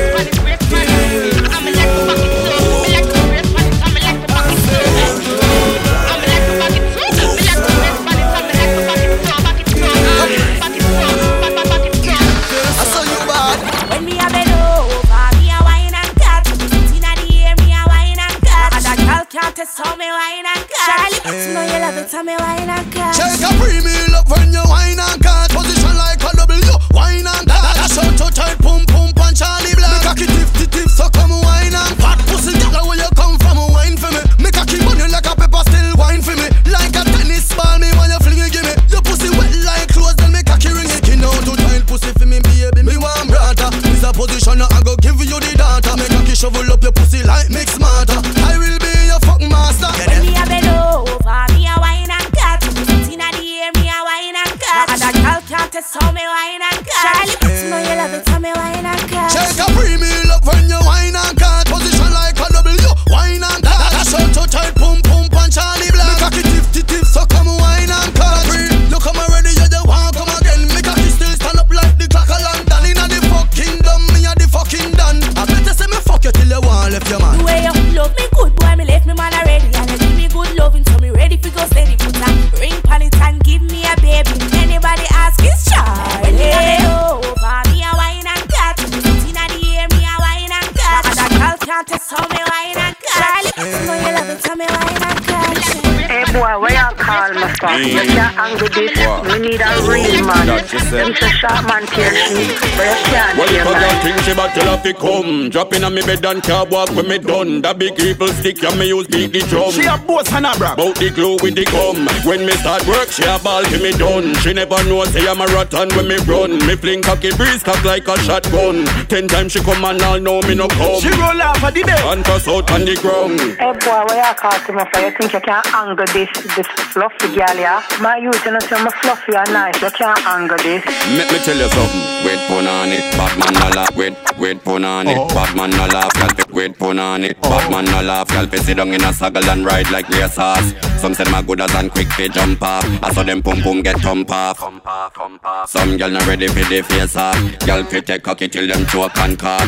[SPEAKER 3] Tell me wine and cut. Charlie, you know you love it. Tell me wine and cut.
[SPEAKER 5] Shake a premium love when you wine and cut. Position like a W, wine and cut. Dash out to tight, pum pum punch Charlie Black. Me cocky tip, so come wine and fat pussy. Girl, where you come from, wine for me. Me cocky money like a pepper, still wine for me. Like a tennis ball, me when you fling it, give me. Your pussy wet like clothes, then me cocky ring it. Skin out to tight pussy for me, baby. Me want brother. This a position, I go give you the data. Me cocky shovel up your pussy like mix smarter. I will be your fuck master.
[SPEAKER 3] When me a bend over, me a wine and cut. Inna the air, me a wine and cut. And a girl can't test how me wine and cut. Charlie, you know you love it, tell me wine and cut.
[SPEAKER 5] Shake a premium up when you wine and cut. Position like a W, wine and cut. Dash out to tight, pum pum punch Charlie Black. Me cocky tip, so come wine and cut. Look how me ready, you just want come again. Me cocky still stand up like the clock of London. Inna the fucking dumb, me a the fucking done. I better say me fuck you till you want left your man.
[SPEAKER 3] The way you love me good, boy, me left me man already. And you give me good loving, so me ready for go steady. Put a ring on it and give me a baby. Anybody ask is Charlie. When me a bend over, me a wine and cut. Inna the air, me a wine and cut. And a girl can't test how me wine and cut. Charlie, you know you love it, tell me wine and cut.
[SPEAKER 20] Hey boy, where you call me from? You can't angle this. We need a real man. Them say sharp man tear sheet, but you can't
[SPEAKER 21] well,
[SPEAKER 20] tear man.
[SPEAKER 21] Well, think she back till I fi come. Dropping on me bed and can't walk when me done. That big people stick and me use beat the drum.
[SPEAKER 13] She a boss and a brag.
[SPEAKER 21] Bout the glue with the gum. When me start work, she a ball till me done. She never know say I'm a rotten when me run. Me fling cocky breeze cock like a shotgun. 10 times she come and all know me no come.
[SPEAKER 13] She roll off of the bed
[SPEAKER 21] and toss out on the ground.
[SPEAKER 20] Hey boy, where you call me from? You think you can angle this fluffy girl, yeah? My youth, you know, say I'm fluffy and nice. You can't angle this.
[SPEAKER 21] Let me tell you something. Wait pun on it, Batman no laugh. Wait pun on it, Batman no laugh. Wait pun on it, Batman no laugh. Girl, sit down in a saddle and ride like their sauce. Some say my good as and quick fi jump off. I saw them pum pum get thump off. Some girl not ready for the face off. Girl fi take cocky till them choke and cough.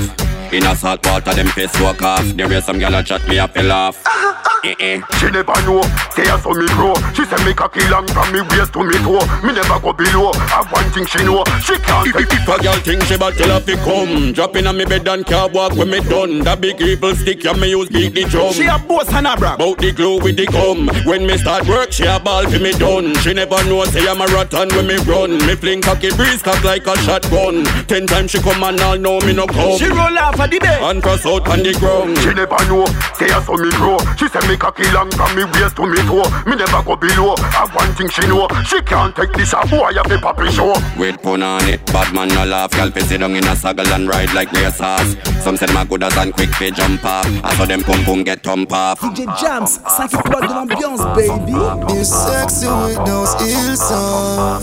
[SPEAKER 21] In a salt water, them face walk off. There is some gal a chat me up a laugh.
[SPEAKER 11] She never know, say I saw me grow. She said me cocky long from me waist to me toe. Me never go below, I one thing she know. She can't take
[SPEAKER 21] If a girl think she but tell her fi come. Drop in on me bed and can't walk when me done. That big evil stick ya me use beat the drum.
[SPEAKER 2] She a boss and a brag
[SPEAKER 21] bout the glue with the gum. When me start work, she a ball fi me done. She never know say I'm a rotten when me run. Me fling cocky breeze cock like a shotgun. 10 times she come and all know me no come.
[SPEAKER 2] She roll off of the bed
[SPEAKER 21] and cross out on the ground.
[SPEAKER 11] She never know, say I saw me grow. She said me cocky long from me waist to me toe. Me never go below, I one thing she know. She can't take this a boy have the puppy show.
[SPEAKER 21] Wait pun on it, bad man no laugh. Y'all fi sit down in a saddle and ride like their sauce. Some said my good as and quick fi jump off. I saw them pum pum get thump off.
[SPEAKER 22] DJ Jams, 5 étoiles de l'ambiance, baby.
[SPEAKER 23] You're sexy with those heels on.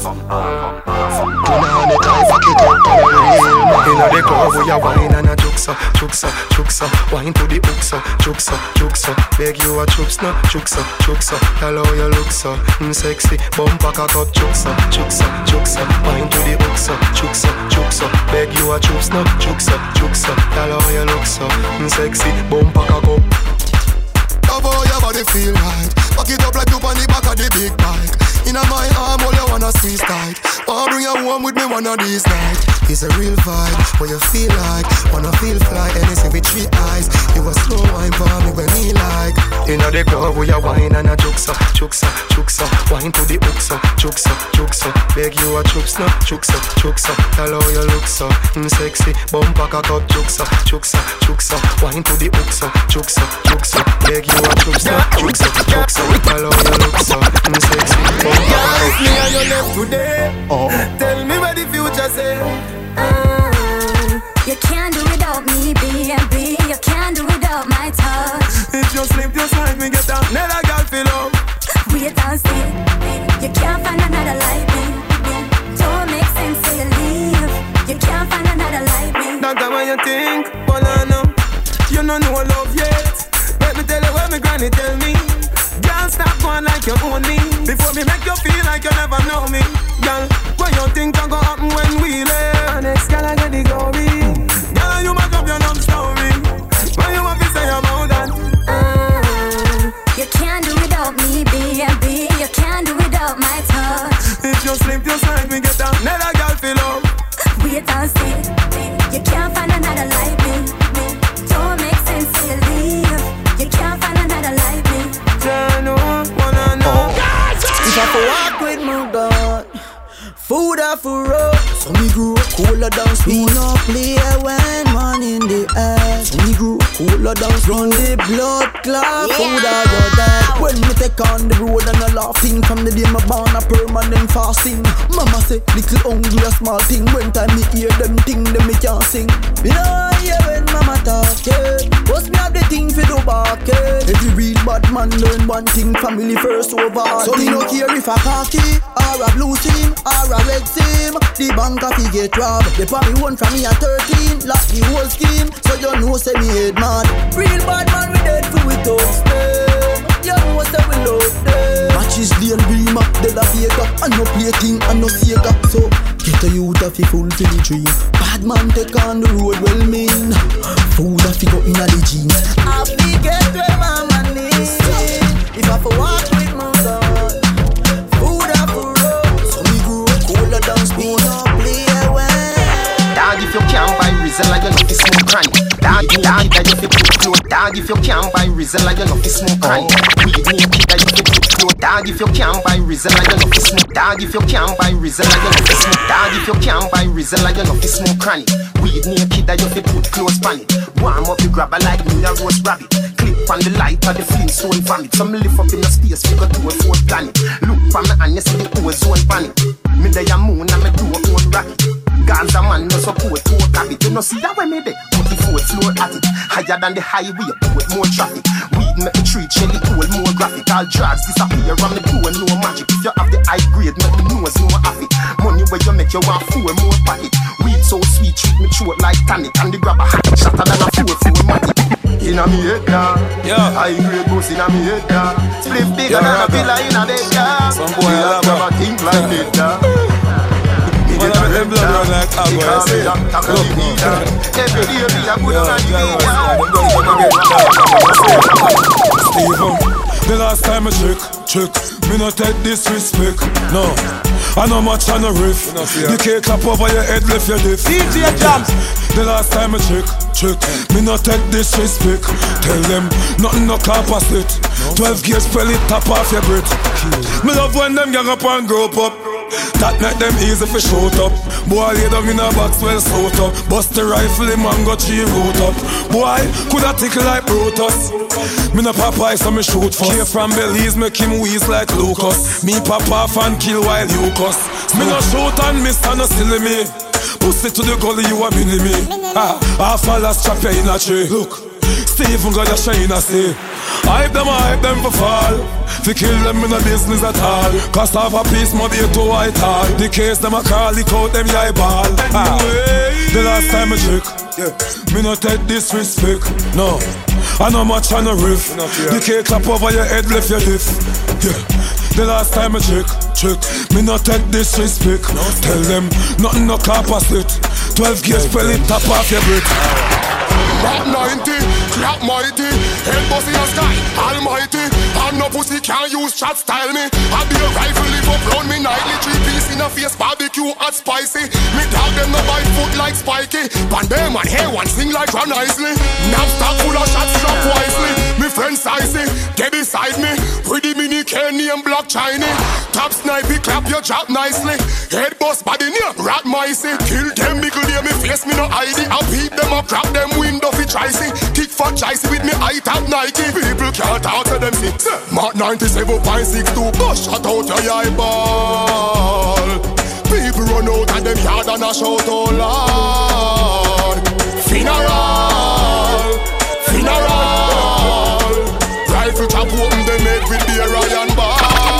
[SPEAKER 24] Inna the club we a wine and a juksa, juksa, juksa. Wine to the hooksa, juksa, juksa. Beg you a chups no, juksa, juksa. Tell how you look so, sexy. Bumper cock up, juksa, juksa, juksa. Wine to the hooksa, juksa, juksa. Beg you a chups no, juksa, juksa. Tell how you look so, sexy. Bumper cock up.
[SPEAKER 23] Love how your body feel right. Back it up like you on the back of the big bike. Inna my arm, all you wanna squeeze tight. Wanna bring you home with me one of these nights. It's a real vibe, what you feel like. Wanna feel fly, anything with 3 eyes. You a slow wine for me when me like.
[SPEAKER 24] Inna the club we a wine and a juksa, juksa, juksa. Wine to the hooksa, juksa, juksa. Beg you a chups no, juksa, juksa. Tell how you look so, sexy. Bumper cock up, juksa, juksa, juksa. Wine to the hooksa, juksa, juksa. Beg you a chups no, juksa, juksa. Tell how you look so, sexy.
[SPEAKER 23] If me and you left today, tell me what the future say.
[SPEAKER 25] You can't do without me, baby. You can't do without my touch.
[SPEAKER 23] If you slip your side, me get another girl feel up.
[SPEAKER 25] Wait and see. You can't find another like me. Don't make sense till you leave. You can't find another like me.
[SPEAKER 23] That's the way you think, well I know. You don't know love yet. Let me tell you what my granny tell me. Can't stop going like you own me. Before me make you feel like you never know me. Girl, what you think can go happen when we live? Next girl I get the glory. Girl, you might up your love story. What you want to say about that?
[SPEAKER 25] You can't do without me, baby. You can't do without my touch.
[SPEAKER 23] If you slip your side, we get another girl feel up.
[SPEAKER 25] Wait and see. You can't find another like me. Don't make sense till you leave. You can't find another like me.
[SPEAKER 22] If I could walk with my God, food off for road. So me grew up cooler down speed. No play when man in the air. So me grew up cooler down speed. Run the blood clot, food I got that. When me take on the road and I laughing. From the day my born a permanent fasting. Mama say little hungry a small thing. When time me hear them thing, then me can't sing. Me know hear when mama talking. Must me have the thing for do barking. Every real bad man learn one thing. Family first over. So me no care if a khaki or a blue team or a red team. The bank a fi get robbed. They probably won from me at 13. Lost the whole scheme. So you know say me head mad. Real bad man we dead for we toast them. You know say we love them. Matches the Beamer, dead a Vega. And no plating and no Sega. So get a youth a fi fulfill the dream. Bad man take on the road well mean. Food a fi go in a the jeans. I fi get where my man is. If I fi walk with my God, food a fi road. So me grew up cooler down speed. No play away.
[SPEAKER 26] Dog if you can't buy Rizla, you know fi smoke crank. Dog that you fi put clothes. Dog if you can't buy Rizla, you know fi smoke crank. Weed naked that you fi put clothes. Dog if you can't buy Rizla, you know fi smoke. Dog if you can't buy Rizla, you know fi smoke. Dog if you can't buy Rizla, you know fi smoke crank. Weed naked that you fi put clothes pan it. Warm up the grabber like me a roast rabbit. Clip on the light of the Flintstone vomit. Some lift up in the space, figure to a 4th planet. Look for me and you see the ozone panic. Me day a moon and me do a own rocket. Gaza man no support to a habit. You know see that way me dey put the 4th floor at it. Higher than the highway, put more traffic. Weed make the treat Shelly cool more graphic. All drugs disappear and me do no magic. If you have the high grade, make me nose no happy. Money where you make you want 4 more pocket. Weed so sweet, treat me throat like tonic. And the grabber hot, shatter than a 4 matic. Inna me head down, high grade goes inna me head down. Split bigger than a villa inna bed down. Some boy have a think like it down.
[SPEAKER 5] me get a red down. He call me doctor, cause he need that. Every day me a put on a new
[SPEAKER 1] Steven, the last time I check, me no take disrespect, no. I know much on the riff. The cake clap over your head, left your diff.
[SPEAKER 2] DJ Jams.
[SPEAKER 1] The last time I check, me no take disrespect. Tell them nothing no capacity. 12 gauge pellet top off your breath. Me love when them gang up and grow up. That night them easy for shoot up. Boy lay down in a box well sewed up. Bust the rifle him and got tree root up. Boy coulda tickle like Brutus. Me no Popeye so me shoot first. Came from Belize make him wheeze like Lucas. Me pop off and kill while you cuss. Me no shoot and miss and no silly me. Pussy to the gully you a mini me. Half a last trap you in a tree. Look, Stephen got a shine a say. Hype them for fall. Fi kill them in a business at all. Cause half a piece more be to white hall. The case them a call, lick out them eye ball. The last time I check, me no take disrespect, no. I know much on the riff. The cake clap over your head, left your diff. The last time I check, me no take disrespect. Tell them nothing no capacity. 12 gauge pellet top off your brick.
[SPEAKER 18] Rap 90, clap mighty, head boss in the sky, almighty. And no pussy can't use chat style me. I be a rifle live up round me nightly. 3 piece in a face, barbecue hot spicy. Me dog them no bite foot like Spiky. Pan them and hair one sing like Ron Isley. Nap stock full of shots drop wisely. Me friend Sizey, get beside me. Pretty mini Kenny and Black Chiney. Top snipey, clap your job nicely. Head boss body near rat micey. Kill them biggle near me face, me no ID. I beat them up, crack them window fi Chicey. Kick for Chicey with me high top Nike. People can't talk to them sick. Mark 97.62, go shut out your eyeball. People run out of them yard and a shout, oh Lord. Funeral, rifle chop open them head with the Ryan bar.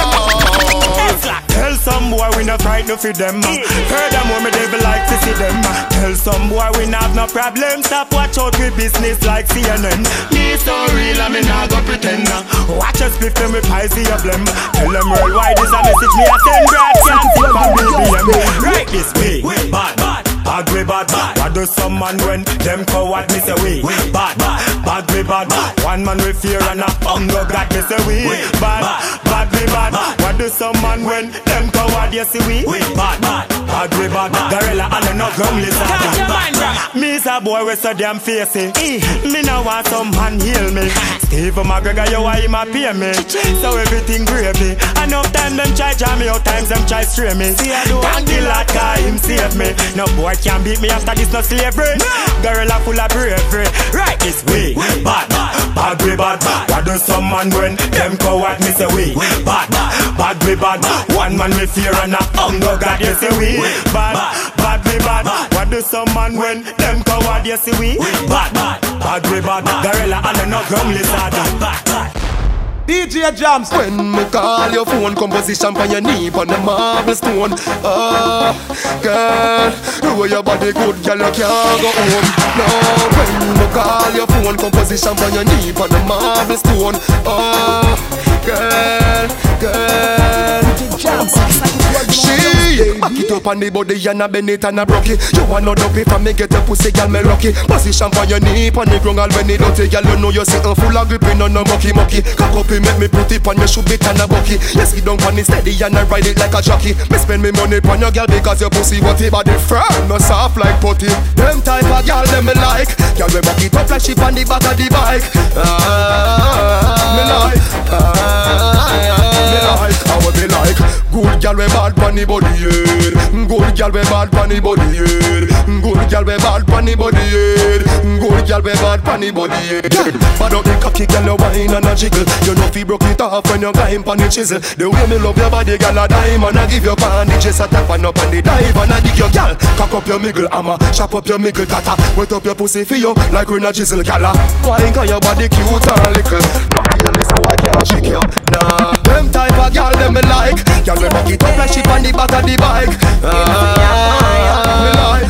[SPEAKER 6] Tell some boy we not frightened for them. Furthermore, me devil like to see them. Tell some boy we not have no problem. Stop watch out with business like CNN. Me so real and me not go pretend. Watch us split them with pies your blem. Tell them worldwide is a message me I send. Brad can't see my BBM. Right this way, bad. Bad way bad. What do some man when them coward me say we? Bad way bad. One man with fear and a hunger God me say we. Bad way bad. What do some man when them coward you see we? Bad way bad. Gorilla and no ground lizard. Me is a boy with so damn facey. Me now want some man heal me. Steve McGregor you why him a pay me. So everything gravy. Enough time them try jam me, out times them try stray me. Thank the Lord cause him save me. No boy can't beat me after this no slavery. Gorilla full of bravery. Right this way. Bad way bad. What do some man when them coward me say we? Bad way bad. One man with fear and a hunger God you say we. Bad way bad. What do some man when them coward you say we? Bad way bad. Gorilla and no ground lizard.
[SPEAKER 2] DJ Jams.
[SPEAKER 24] When me call your phone, composition for your knee on the marble stone. Girl, the way your body good, girl, you can't go home. No, when me call your phone, composition for your knee on the marble stone. Girl, she back it up on the body and a bend it and a broke it. You want no dopey from me get your pussy, girl, me lucky. Position for your knee on the ground, when it dirty, girl, you know you're sitting full of gripping on no mucky. Cock up it, make me put it on your shoe bit and a bucky. You sit down on it steady and I ride it like a jockey. Me spend me money on your girl because your pussy whatty, body firm, no soft like putty. Them type of girl them me like. Girl we back it up like ship on the back of the bike. Me like. How would be like? Good girl we bad pon the body head. Good girl we bad pon the body head. Good girl we bad pon the body head. Good girl we bad pon the body head. Bad up the cocky girl you whine and a jiggle. You know fi broke it off when you climb pon the chisel. The way me love your body girl a dime and I give you bandages a tap and up on the dive and I dig your girl. Cock up your miggle hammer, chop up your miggle tata. Wet up your pussy for you like when a chisel gala. Wine cause your body cute and little. Girl is how I can't shake you. Nah, them type of girl them me like. Girl we back it up like ship on the back of the bike. Me like.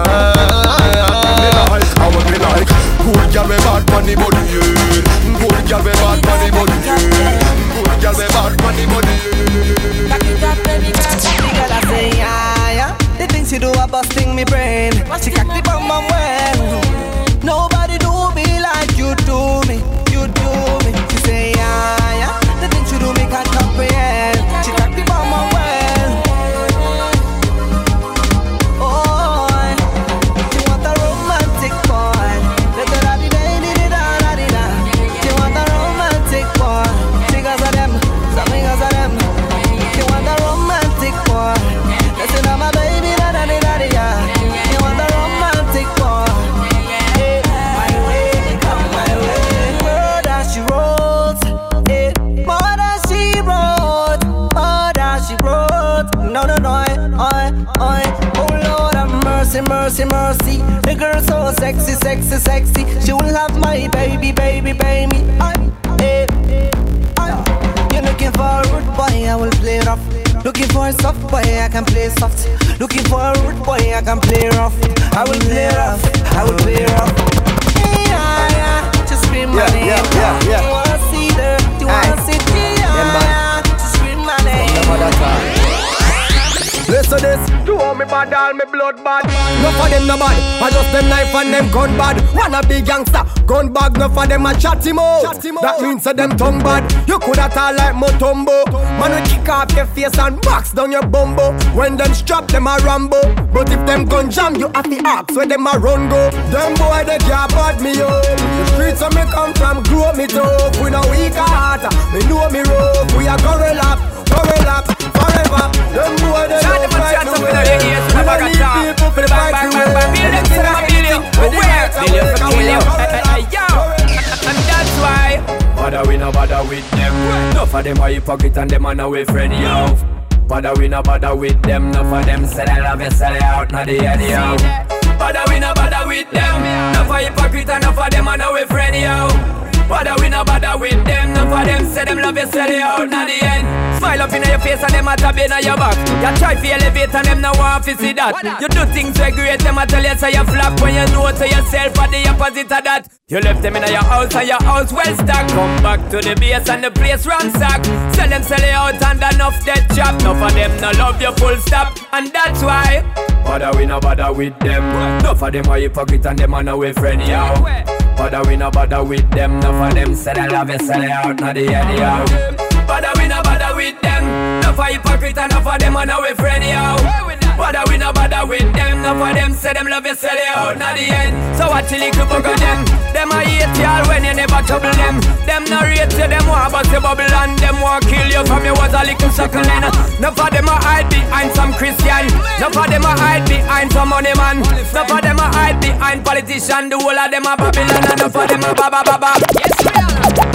[SPEAKER 24] How would me like? Good girl we bad pon the body head. Good girl we bad pon the body head. Good girl we bad pon the body head.
[SPEAKER 15] Back it up, baby girl. The girl I say, yeah. The
[SPEAKER 22] She cock the bum bum well. Nobody do me like you do me. You do me. She say yeah, yeah. The things you do me can't comprehend. She cock the bum bum well. Oh, she want a romantic boy. Let her have the baby, da-da-da-da. She want a romantic boy. Because of them, some because of them. She want a romantic boy. Listen to my baby, da-da-da-da-da. She want a romantic boy. Hey, my way, come my way. Murder she wrote, hey, murder she wrote, murder she wrote. No, no, no, oi. Oh Lord have mercy, mercy, mercy. The girl so sexy, sexy, sexy. She will have my baby, baby, baby. Hey, you're looking for a rude boy, I will play rough. Looking for a soft boy, I can play soft. Looking for a rude boy, I can play rough. I will play rough, I will play rough. Yeah, just scream my name. You wanna see her, you wanna see her. Just scream my name.
[SPEAKER 23] Listen this, to all me bad, all me blood bad. No for them no bad, I just them knife and them gun bad. Wanna be gangster, gun bag, no for them a chatty mo. That means that them tongue bad. You coulda talk like Mutombo. Man will kick off your face and box down your bumbo. When them strap, them a Rambo. But if them gun jam, you have to ask where them a run go. Them boy they can't bad me up. The streets where me come from, grow me tough. We no weak heart, me know me rough. We a gorilla, forever. Them boy they don't fight no way. We don't need people for the fight no way. Build them to the building. Where? Million for kill you. And that's why bother we no bother with them. Enough of them are hypocrite and them are no way friend yo. Bother we no bother with them. Enough of them sell it love you sell it out now the head yo. Bother we no bother with them. Enough of hypocrite and enough of them are no way friend yo. Bother we no bother with them. Enough of them say them love you sell it out now the end. Smile up in your face and them a tab in your back. You try to elevate and them no want to see that. You do things so great, them a tell you say you flop. When you know to yourself at the opposite of that. You left them in your house and your house well stocked. Come back to the base and the place ransack. Sell it out and enough dead chop. Enough of them no love you full stop. And that's why bother we no bother with them. Enough of them are hypocrite and them are no way friend yo. Bother we no bother with them. Enough of them say they love you sell it out now the head yo. Bother we no bother with them. Enough of hypocrite and enough of them are no way friend yo. Bother we no bother with them. Enough of them say them love you sell it out now the end. So watch the little book of them. Them a hate y'all when you never trouble them. Them no rate you, them want bust your bubble and them want kill you from you was a little suckling. Enough of them a hide behind some Christian. Enough of them a hide behind some money man. Enough of them a hide behind politician. The whole of them a Babylon. Enough of them a baba. Yes we are.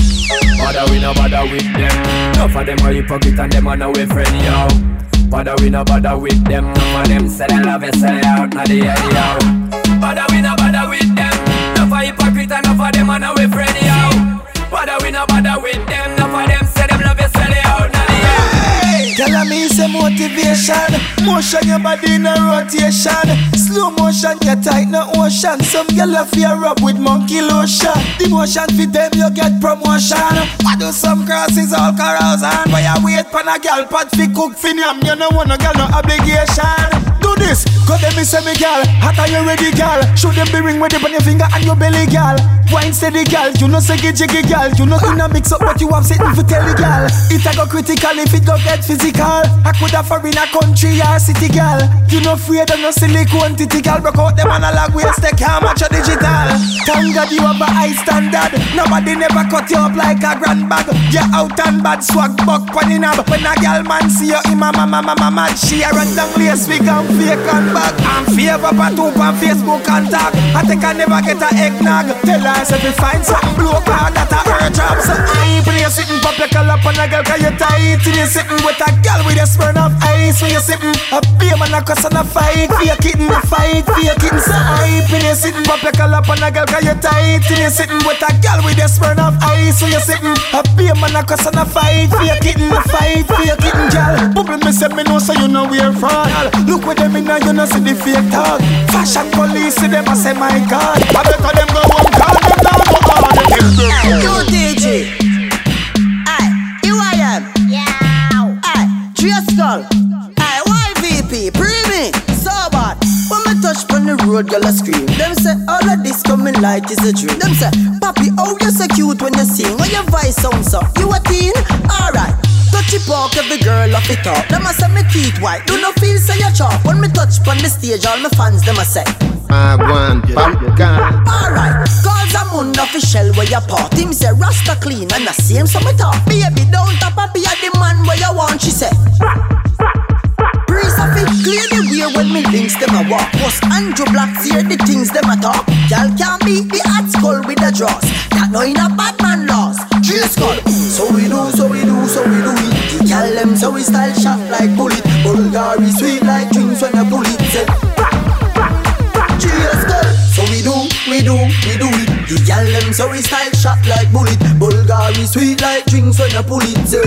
[SPEAKER 23] Bother we no bother with them. Enough of them are hypocrite and them are no way friend yo. Bother we no bother with them. Enough of them say they love you sell it out now the head yo. Bother we no bother with them. Enough of hypocrite and enough of them are no way friend yo. Bother we no bother with them. Enough of them say them love you sell it out now the head.
[SPEAKER 22] Tell me say motivation. Motion your body in a rotation. Slow motion get tight no ocean. Some girl a fear up with monkey lotion. The motion fit them you get promotion. I do some crosses all carousing. But you wait pan a girl pot fi cook fin yam. You no want no girl no obligation. Do this, cause them me say me girl. Hot are you ready girl? Should them be ring with it on your finger and your belly girl. Wine steady girl, you know say jiggy girl. You know in a mix up but you have sitting for tell the girl. It a go critical if it go get physical. I could have for in a country or city girl. You no afraid of no silicone titty girl. Broke out them analog waist, they can't match your digital. Thank God you have a high standard. Nobody never cut you up like a grand bag. You out and bad swag buck pon in a. When a girl man see you in my mama mad. She a run down lace wig and fake and back. I'm favor pa two on Facebook and tag. I think I never get a eggnog. Tell her if you find something blue card that a her job. So I play sitting pop your color pon a girl cause you tight. You sitting with a girl with a spurn of ice. When you sitting a beer man a cuss and a fight. Fear kitten a fight, fear kitten. So I play sitting pop your color pon a girl cause you tight. You sitting with a girl with a spurn of ice. When you sitting a beer man a cuss and a fight. Fear kitten a fight, fear kitten girl. Bubble me say me know so you know where from. Look with them in now you know see the fake talk. Fashion police see them a say my God. I better them go home call them down go all the Yo DJ, aye, you I am. Yeah. Aye, Trio Skull. Aye, YVP, Primi, so bad. When me touch on the road. road, girl a scream. Them say all of this coming like is a dream. Them say, Papi, oh you so cute when you sing. When your voice sounds up, you a teen? Alright. Touchy park, every girl off it up. Them a say me teeth white, do not feel say you chop. When me touch on the stage, all my fans them a say alright, cause I'm on official where you part. Him say Rasta clean and the same so me talk. Baby don't tap up be a the man where you want, she say. Breeze of it clear the way when me links them a walk. Was Andrew Black hear the things them a talk. Y'all can't beat the hot skull with the draws. That no in a bad man laws. Drill skull. So we do, so we do, so we do it. The gal them so we style shot like bullet. Bulgari sweet like drinks when you pull it. Say drill skull. So we do, we do, we do it. The gal them so we style shot like bullet. Bulgari sweet like drinks when you pull it. Say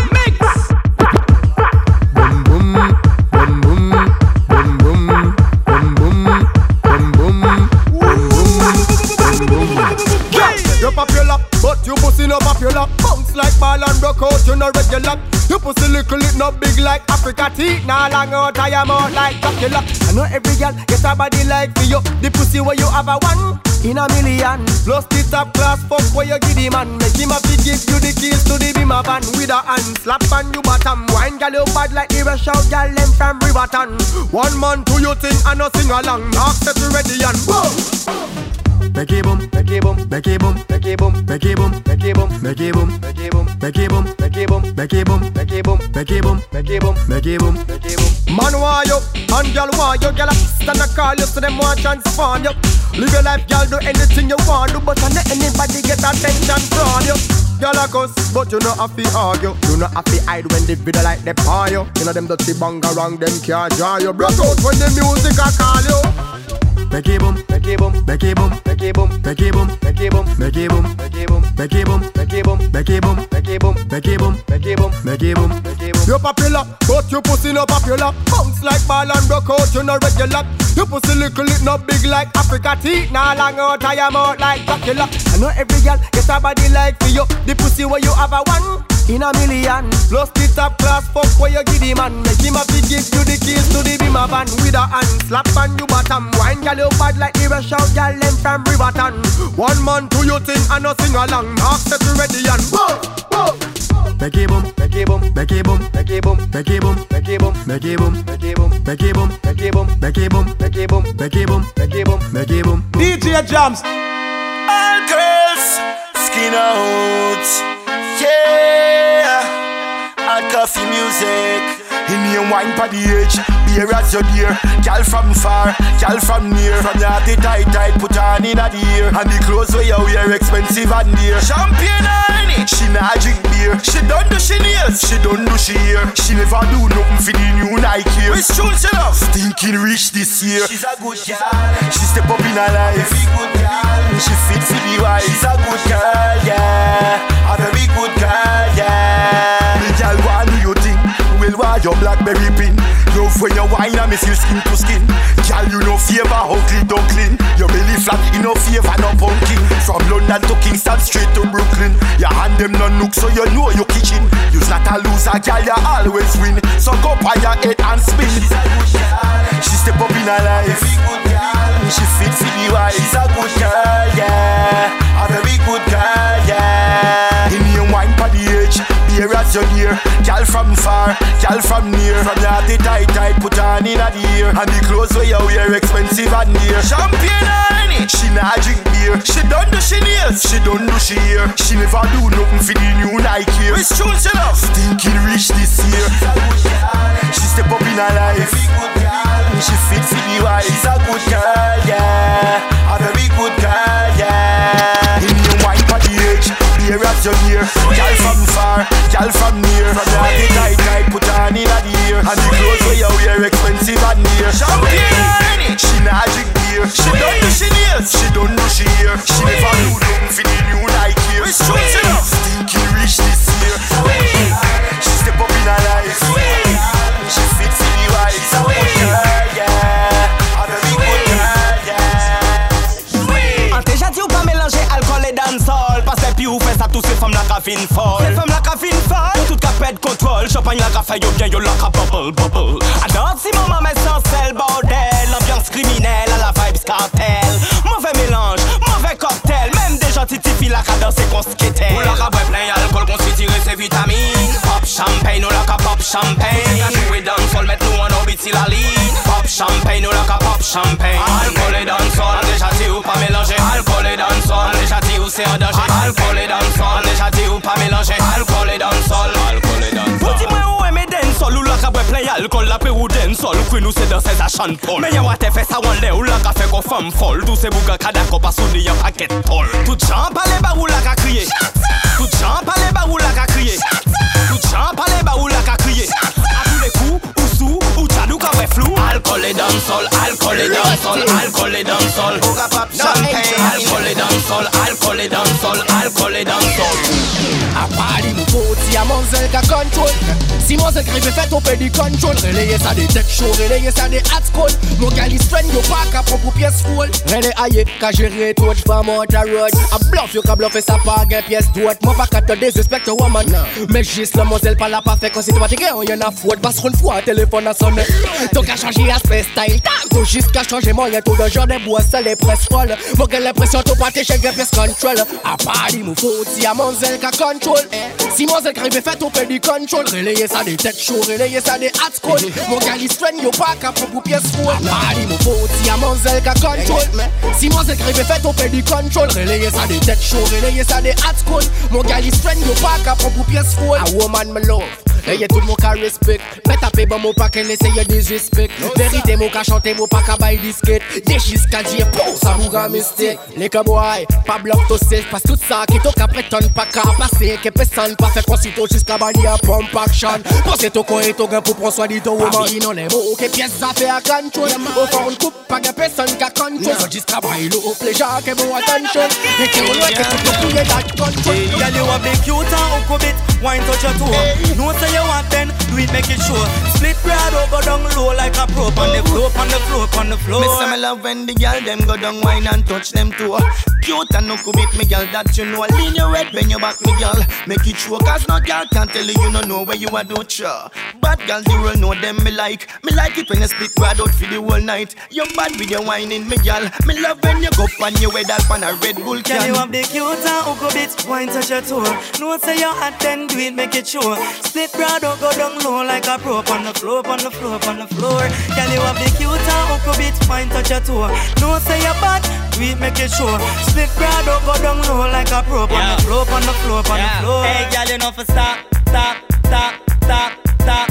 [SPEAKER 7] you're popular, but you pussy no popular. Bounce like ball and broke out, you no regular. You pussy little, it not big like Africa tea. Nah long out, I am out like Dracula. I know every girl get a body like for you. The pussy where you have a one in a million. Plus the top class fuck where you give the man. Make him have to give you the keys to the beamer van. With a hand slap on you bottom. Wine girl you bad like the rush out girl them from Riverton. One man do you thing and no sing along. Knock set you ready and boom. Becky boom, Becky boom, Becky boom, Becky boom, Becky boom, Becky boom, Becky boom, Becky boom, Becky boom, Becky boom, Becky boom, Becky boom, Becky boom, Becky boom, Becky boom, Becky boom. Man want you, and girl want you, girl stand a call you so them want transform you. Live your life, girl, do anything you want, do but not anybody get attention from you. Girl a cuss, but you not have to argue. You not have to hide when the video like they paw you. You know them dirty banga wrong, them can't draw you. Broke out when the music a call you. Becky boom, Becky boom, Becky boom, Becky boom, Becky boom, Becky boom, Becky boom, Becky boom, Becky boom, Becky boom, Becky boom, Becky boom, Becky boom, Becky boom, Becky boom, Becky boom. You popular, but you pussy no popular. Bounce like ball and broke out, you no regular. You pussy little, it not big like Africa tea. Nah long out, I am out like Dracula. I know every girl get a body like for you. The pussy where you have a one in a million. Plus the top class fuck where you give the man. Make him have to give you the keys to the beamer van. With a hand slap on you bottom. Wine girl you bad like the rush out girl them from Riverton. One man do you thing and no sing along. Knock set you ready and boom, boom. Becky boom, Becky boom, Becky boom, Becky boom, Becky boom, Becky boom, Becky boom, Becky boom, Becky boom, Becky boom, Becky boom, Becky boom, Becky boom, Becky boom, Becky boom.
[SPEAKER 8] DJ Jams.
[SPEAKER 9] All girls, skin out, yeah. Hard coffee music. In your wine pa the edge, beer as your dear. Girl from far, girl from near. From your heart tight, tight, put on in a the ear. And the clothes where you wear expensive and dear. Champagne honey, she not drink beer. She don't do she nails, she don't do she hair. She never do nothing for the new Nike. Which tune she love? Thinking rich this year. She's a good girl, she step up in her life. Very good girl, she fit for the wife. She's a good girl, yeah. A very good girl, yeah. The girl want do you think? Well, why your blackberry pin? Love when you wine and me feel skin to skin. Girl, you no favor ugly duckling. Your belly flat, you no favor no pumpkin. From London to Kingston straight to Brooklyn. Your hand them no nook so you know your kitchen. You's not a loser, girl, you always win. So go by your head and spin. She's a good girl, she step up in her life. Very good girl, she fit for the wife. She's a good girl, yeah. A very good girl, yeah. In your wine pa the edge, beer as your dear. Girl from far, girl from near. From your heart tight, tight, put on in a the ear. And the clothes where you wear expensive and dear. Champagne honey, she not drink beer. She don't do she nails, she don't do she hair. She never do nothing for the new Nike. Which tune she love? Thinking rich this year. She's a good girl, she step up in her life. Very good girl, she fit for the wife. She's a good girl, yeah. A very good girl, yeah. In your wine pa the edge, beer as your dear. Girl from far, girl from near. From your heart tight, tight, put on in a the ear. And the clothes where you wear expensive and dear. Champagne honey, she not drink beer. She don't do she nails, she don't do she hair. She never do nothing for the new Nike. Which tune she love? Stinky rich this year. She step up in her life. She fit for the wife. She's a good girl, yeah. A very good girl, yeah.
[SPEAKER 10] En déjà dit ou pas mélanger alcool et dancehall. Parce que puis ou fait ça tous ces femmes la cafine folle. Ces femmes la cafine folle. Tout cas pète contrôle. Champagne la café yo bien yo la bubble bubble. Alors si maman met sans sel bordel. L'ambiance criminelle à la vibe champagne. Alcool et dancehall, déjà dit ou pas mélanger. Alcool et dancehall, déjà dit ou c'est un danger. Alcool et dancehall, déjà dit ou pas mélanger. Alcool et dancehall, alcool et dancehall. Dis-moi où est mes dancehall ou la caboué play alcool la paix ou dancehall. Queen ou c'est dans ses achants Paul. Mais y'a what fait ça one day ou la café qu'on femme folle. Tous ces bougas kadako pas sous y'a paquet toll. Tout champ à les barou la ka crier. Tout champ à les barou la ka crier. Tout champ à les barou la ka crier. À tous les coups ou sous ou tchadou ka fait flou. Alcool et dancehall, alcool et dancehall, alcool et dancehall. Bouga pop champagne. Alcool et dancehall, alcool et dancehall, alcool et dancehall.
[SPEAKER 4] A Paris mon pote, y'a mon zel ka contrôle. Si mon zel crève fait on fait du contrôle. Relayer ça des tech show, relayer ça des hot school. Mon gal is friend yo pas ka propre pièce full. Relay aïe, ka gérer tout femme on ta road. A bluff yo ka bluffer ça pas gain pièce droite. Moi pas ka te désespecte woman. Mais juste la mon zel pas la pas fait quand c'est toi t'es on y'en a faute. Parce qu'on fois téléphone à sonner. Donc à changer aspect style. T'as jusqu'à changer moyen tout de genre des bois ça les presse folle. Mon gal l'impression tout pas t'es chez pièce control. A Paris mon pote, y'a mon zel ka contrôle. Si mon zel crève fait on fait du contrôle. Relayer ça des tech show, relayer ça des hot school. Mon gal is friend yo pas ka propre pièce full. Paris mon pote, y'a mon zel ka contrôle. Si mon zel crève fait on fait du contrôle. Relayer ça des tech show, relayer ça des hot school. Mon gal is friend yo pas ka propre pièce full. A woman me love. Ayez tout mon cas respect. Mais tapez bon mon pas qu'elle essaye disrespect. Vérité mon cas chanter mon pas qu'à bail disquette. Des jusqu'à dire pour ça vous gars mystique. Les cowboys, pas bloc to save. Parce tout ça qui t'oc après ton pas qu'à passer. Que personne pas fait consulter jusqu'à bailler à pump action. Pensez tout quoi et tout gain pour prendre soin de ton woman. Il n'en est beau que pièce à faire à contrôle. Au fond une coupe pas de personne qu'à contrôle. So jusqu'à bailler au pleasure que bon attention. Et que on voit que tout le monde est dans contrôle.
[SPEAKER 10] Y'all you a big cute and ukubit. Wine touch your toe. No say you want then, do it make it sure. Split crowd or go down low like a prop on the floor, on the floor, on the floor.
[SPEAKER 9] Me say me love when the girl them go down wine and touch them too. Cute and no kubit me girl that you know. Lean your head when you back me girl. Make it sure cause no girl can tell you don't know where you are don't sure. Bad girl you will know them me like. Me like it when you split crowd out for the whole night. You bad with your whining me girl. Me love when you go on your way that on a Red Bull can.
[SPEAKER 10] Girl you have the cute and ukubit, wine touch your toe. No say you hot then do it make it sure. Split crowd or go down low like a prop on the floor, on the floor, on the floor. Girl you have the cute and ukubit, wine touch your toe. No say you bad, do it make it sure. Split crowd or go down low like a prop on the floor, on the floor, on the floor. Hey girl you know for stop, stop, stop, stop, stop.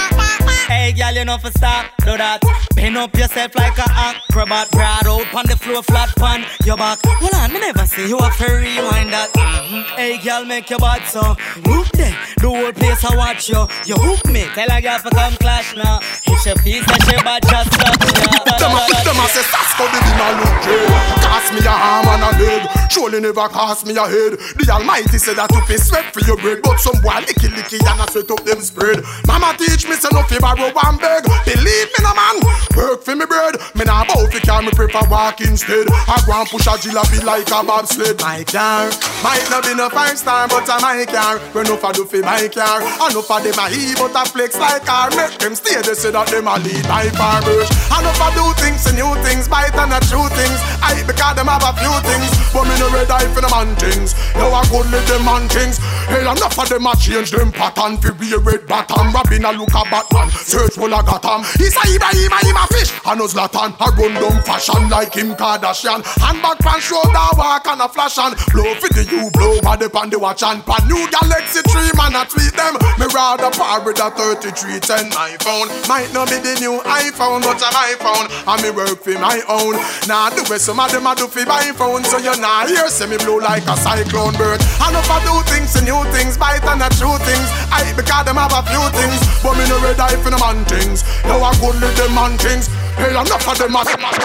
[SPEAKER 10] Hey girl you know for stop, do that. Bend up yourself like a acrobat. Broad out on the floor, flat pan your back. Hold on, me never see you a fairy rewind that. Hey girl make your bad so look there. The whole place I watch you. You hook me, tell a girl to come clash now. Hit your feet and she bad just stop ya.
[SPEAKER 24] Them a say that's how the dinner look good. Cost me a arm and a leg. Surely never cost me a head. The Almighty said that to pay sweat for your bread. But some boy licky and a sweat up them spread. Mama teach me say no fi borrow and beg. Believe me no man, work for me bread. Me nah bow fi car, me prefer walk instead. I go and push a jalopy like a bobsled. My car might not be no 5-star, but a my car. When no for do fi my car, and no for them a he, but a flex like car. Make them stay, they say that them a lead by farmers. And no for do things and new things, bite and a true things. I because them have a few things, but me no red eye for them man things. Now I go let them man things. Hey, enough of them a change them pattern fi be a red bottom. Robin a look a Batman, search for a Gotham. He's a Ibrahim a fish, and a Zlatan. A run down fashion like Kim Kardashian. Handbag pan shoulder walk and a flash and blow for the you blow by the pan the watch and pan new Galaxy 3 man a tweet them. Me rather par with a 3310 iPhone. Might not be the new iPhone, but I'm iPhone. And me work for my own. Now the way some of them a do for my phone. So you nah hear say me blow like a cyclone bird. And if I do things and new things, bite and a true things. I because them have a few things, but me no red eye for the man things. Now I good with them man things. Hey, enough of them man.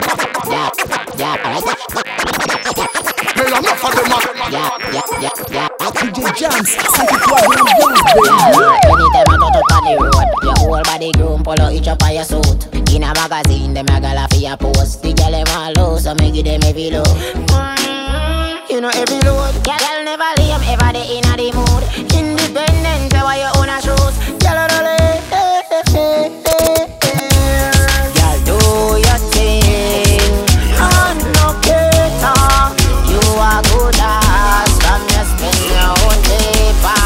[SPEAKER 24] Hey, enough of them man.
[SPEAKER 22] DJ Jams, c'est toi anytime I touch up on the road, your whole body groom, pull out each up on your suit. In a magazine, them a gala for your post. The girl them all low, so me give them every low. You know every load. Girl never lame, ever they in a the mood. Independent, why you own a shoes. Girl do your thing. I'm no cater. You are good ass, from your spin your own paper.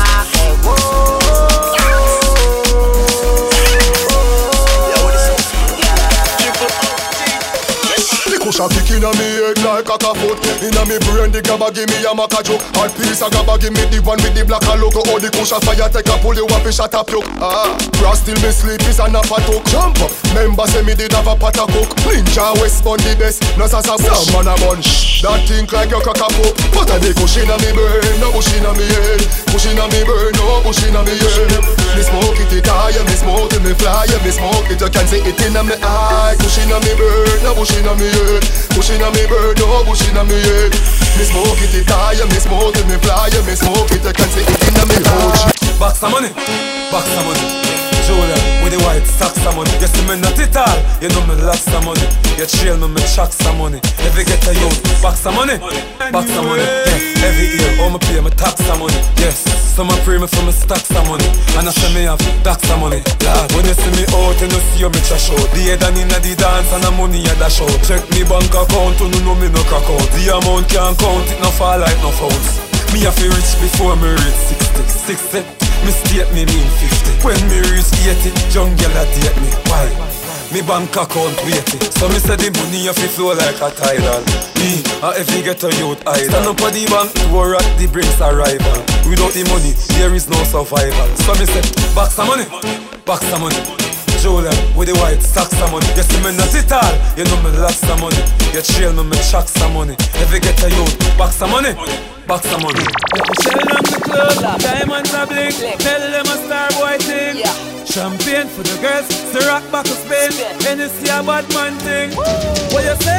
[SPEAKER 24] head like a foot. Inna me brain the gabba give me a maca joke. Hard piece of gabba give me the one with the black and logo. All the cushion fire take a pull you up and shut up you. Cross till me sleep is a nap a talk. Jump up, member say me did have a pot of cook. Ninja West on the best, no sasa bush. Man a bunch, that think like your cock a pop. Put a the cushion on me brain, no bush inna me head. Cushion on me brain, no bush inna me head. Me smoke it high, me smoke it me fly, me smoke it you can see it inna me eye. Cushion on me brain, no bush inna me head. Cushion on me brain, no bush inna me head. Me smoke it high, me smoke it me fly, me smoke it you can see it inna me eye.
[SPEAKER 1] Box of money, box of money. Julia with the white socks of money. You see me not it all, you know me lots of money. You trail me chucks of money. If you get a youth, box of money, box of money. Yes, every year, all me pay me tax of money. Yes, some a pray me for me stacks of money. And I say me have stacks of money. Lord, when you see me out, you know see me trash out. The head and inna the dance and the money you dash out. Check me bank account, you know me no crack out. The amount can't count, it no fall like no fouls. Me have to reach before me reach 60. Me state me mean 50. When me reach 80, young girl a date me. Why? Me bank account weighty. So me say the money have to flow like a tidal. Me, if you get a youth idol. Stand up at the bank, door at the brink's arrival. Without the money, there is no survival. So me say, box of money, box of money. Julia with the white socks of money. You see me not it all, you know me lots of money. You trail me chucks of money. If you get a youth, box of money, box of money.
[SPEAKER 23] Shell them the club, diamonds are blink. Tell them a star boy thing. Champagne for the girls, Ciroc back of Spain. Hennessy a bad man thing. What you say?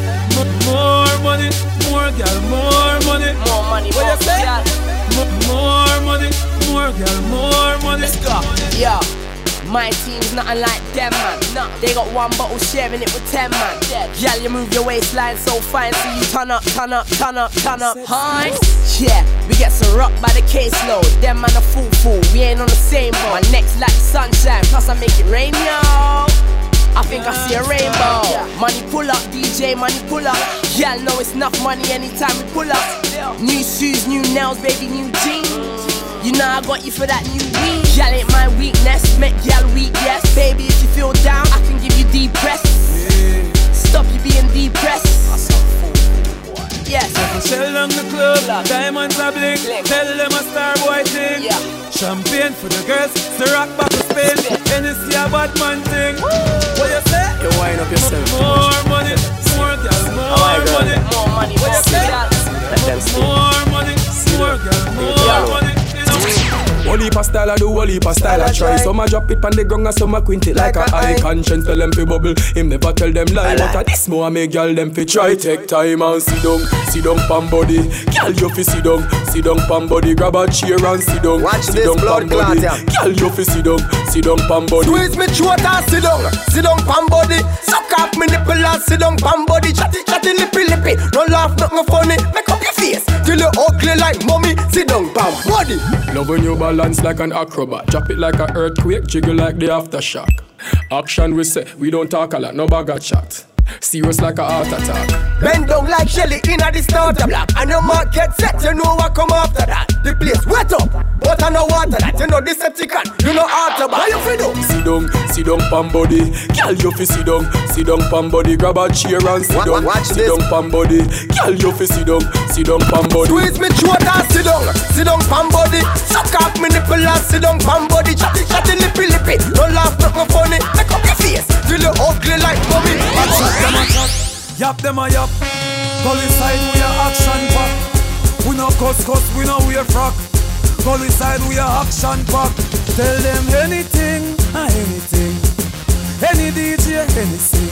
[SPEAKER 23] More money, more girl, more money.
[SPEAKER 8] More money,
[SPEAKER 23] what
[SPEAKER 8] more
[SPEAKER 23] you say? More money, more girl, more money.
[SPEAKER 8] Let's go. Yeah. My team's nothing like them, man. No. They got one bottle sharing it with 10, man. Girl, you move your waistline so fine, so you turn up, turn up, turn up, turn up. Hi. Yeah, we get some rock by the caseload. Them man a fool, we ain't on the same boat. My neck's like sunshine, plus I make it rain, yo. I think I see a rainbow. Money pull up, DJ, money pull up. Y'all know it's enough money anytime we pull up. New shoes, new nails, baby, new jeans. You know I got you for that new weed. Y'all ain't my weakness, make y'all weak, yes. Baby, if you feel down, I can give you deep breath. Stop you being depressed. Yes.
[SPEAKER 23] Shell down the club, diamonds are blink. Tell them a star boy thing. Champagne for the girls, Ciroc back of Spain. Hennessy a bad man thing. What you say?
[SPEAKER 4] You wind up yourself.
[SPEAKER 23] More money, more girl, more money.
[SPEAKER 8] More money,
[SPEAKER 23] what you say? More money, more girl, more money.
[SPEAKER 12] Whole heap of style I do, whole heap of style I try. Some a drop it on the ground and some a quint it like a high conscience. Tell them fi bubble, him never tell them lie. But a this more make y'all them fi try. Take time and sit down pan body. Girl you fi sit down pan body. Grab a chair and sit down, sit down pan body. Girl you fi sit down pan body.
[SPEAKER 7] Squeeze me throat and sit down pan body. Suck off me nipple and sit down pan body. Chatty lippy, no laugh nothing funny. Make up your face till you ugly like mommy. Sit down pan body.
[SPEAKER 12] Love when you balance like an acrobat. Drop it like an earthquake, jiggle like the aftershock. Action we say, we don't talk a lot, no bag of chat. Serious like a heart attack.
[SPEAKER 7] Bend down like Shelly in a the starter block. And your mark get set, you know what come after that. The place wet up, but I know water that. You know this Decepticon, you know after. How you feel do?
[SPEAKER 12] Sit down pan body. Girl you fi sit down pan body. Grab a chair and sit down pan body. Girl you fi sit down pan body.
[SPEAKER 7] Squeeze me throat and sit down pan body. Suck off me nipple and sit down pan body. Chatty lippy, no laugh nothing funny. Make up your face till you ugly like mommy.
[SPEAKER 23] Them a chat, yap them a yap. Gully side we a action pack. We no cuss, we no wear frock. Gully side we a action pack. Tell them anything, anything. Any DJ, any sing.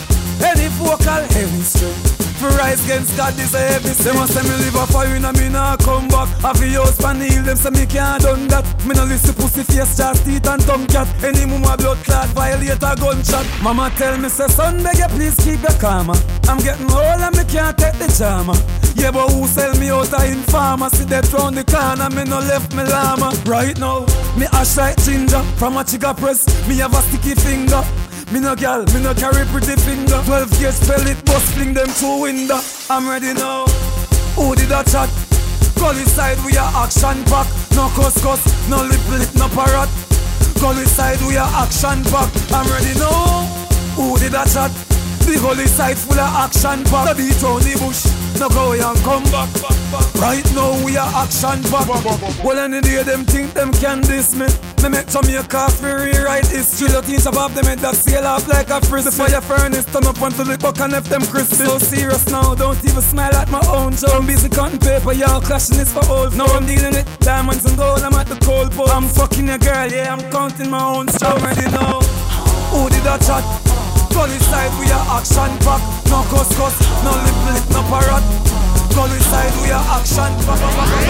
[SPEAKER 23] Any vocal, any string. For rise against God, this a heavy sin. Them a say me live a fire and me nah come back. Have a house pan heal, them say me can't done that. Me no listen pussy face, just teeth and tongue cat. Any mama blood clot, violate a gunshot. Mama tell me say son, beg you please keep your karma. I'm getting old and me can't take the drama. Yeah, but who sell me out a informer? See that round the corner, me no left me llama. Right now, me ash like ginger. From a chica press, me have a sticky finger. Me no gal, me no carry pretty finger. 12 gauge spell it, bust fling them through window. I'm ready now. Who did that chat? Gully side we are action pack. No cuss, no lip, no parrot. Gully side we are action pack. I'm ready now. Who did that chat?
[SPEAKER 1] The holy side full of action pack. No beat on the bush, no go and come back. Right now we are action pack. Well any day them think them can diss me. Me make Jamaica for rewrite history. The things above them head that sail off like a frisbee. The fire furnace turn up onto the buck and left them crispy. So serious now, don't even smile at my own joke. I'm busy cutting paper, y'all clashing this for old. Now I'm dealing with diamonds and gold, I'm at the cold pole. I'm fucking a girl, yeah, I'm counting my own strong. Ready now, who did that chat? Gully side, we are action pack. No cuss, no lip, no parrot. Gully side, we are action pack.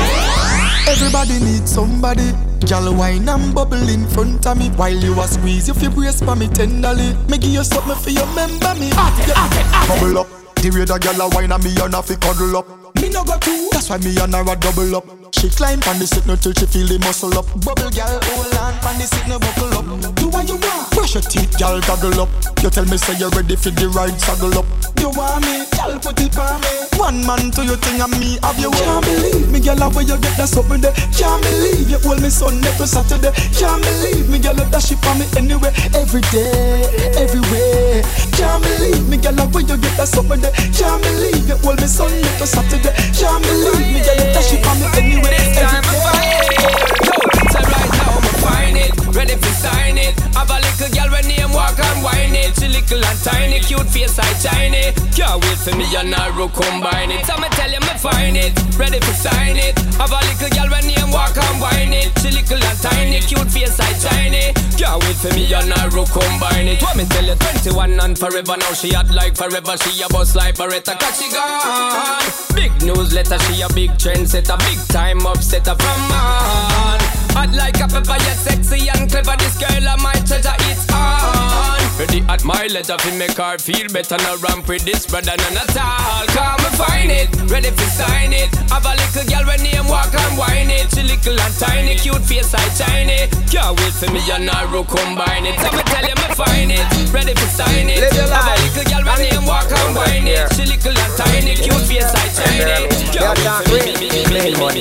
[SPEAKER 3] Everybody needs somebody. Girl wine and bubble in front of me. While you a squeeze, you feel brace for me tenderly. Me give you something for you, remember me. Bubble up. The way the girl a wine and me and a fi cuddle up. Me no go too. That's why me and her a double up. She climb on the seat no till she feel the muscle up. Bubble girl, hold on on the seat no buckle up. Do what you want. Brush your teeth, girl, goggle up. You tell me say you ready for the ride, saddle up. You want me, girl, put it on me. One man to your thing and me have you. Can't believe me, girl, how you get that something there. Can't believe you hold me Sunday to Saturday. Can't believe me, girl, that shit on me anyway, every day, everywhere. Can't believe me, girl, how you get that something there. Can't believe you hold me Sunday to Saturday. Can't believe me, girl, that shit on me anyway, every day.
[SPEAKER 13] So right now I'ma find it, ready for sign it. Have a little girl when name walk and whine it. She little and tiny, cute face like shiny. Can't wait for me and Naru combine it. I'ma tell you me find it, ready for sign it. Have a little girl when name walk and whine it. She little and tiny, cute face like shiny. Can't wait for me and Naru combine it. What me tell you, 21 and forever now she hot like forever. She a boss like Beretta 'cause she gone. Big newsletter, she a big trendsetter, big time upsetter from man. Hot like a pepper, yet sexy and clever. This girl of my treasure, it's on. Ready at my leisure, fi make her feel better. No ramp with this brother, none at all. Come and find it, ready fi sign it. Have a little girl when name walk and whine it. She little and tiny, cute face like shiny. Can't wait for me and Naru combine it. I'ma tell you me find it, ready fi sign it. Have a little girl when name walk and whine it. She little and tiny, cute face like shiny. Can't wait for me.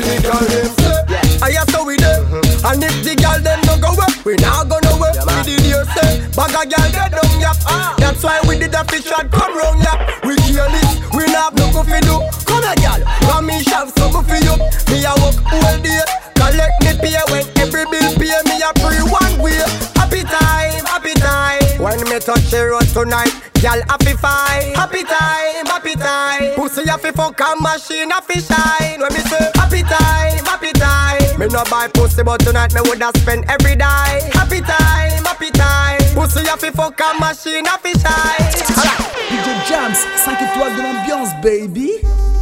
[SPEAKER 7] I have to with them, and if the girl them don't go up, we not gonna work. We did you say, bag a girl they don't yap. That's why we did a fish shot come round yap. We kill it, we not have no for do. Come here, girl, come me shove some for you. Me a work all day, collect me pay when every bill pay me a free one way. Happy time, happy time. When me touch the road tonight, girl happy fine. Happy time, happy time. Pussy happy fuck a machine happy shine. When me say happy time, happy time. Me no buy pussy but tonight me woulda spend every day. Happy time, happy time. Pussy happy fuck a machine happy shine.
[SPEAKER 22] DJ Jams, 5 étoiles de l'ambiance, baby.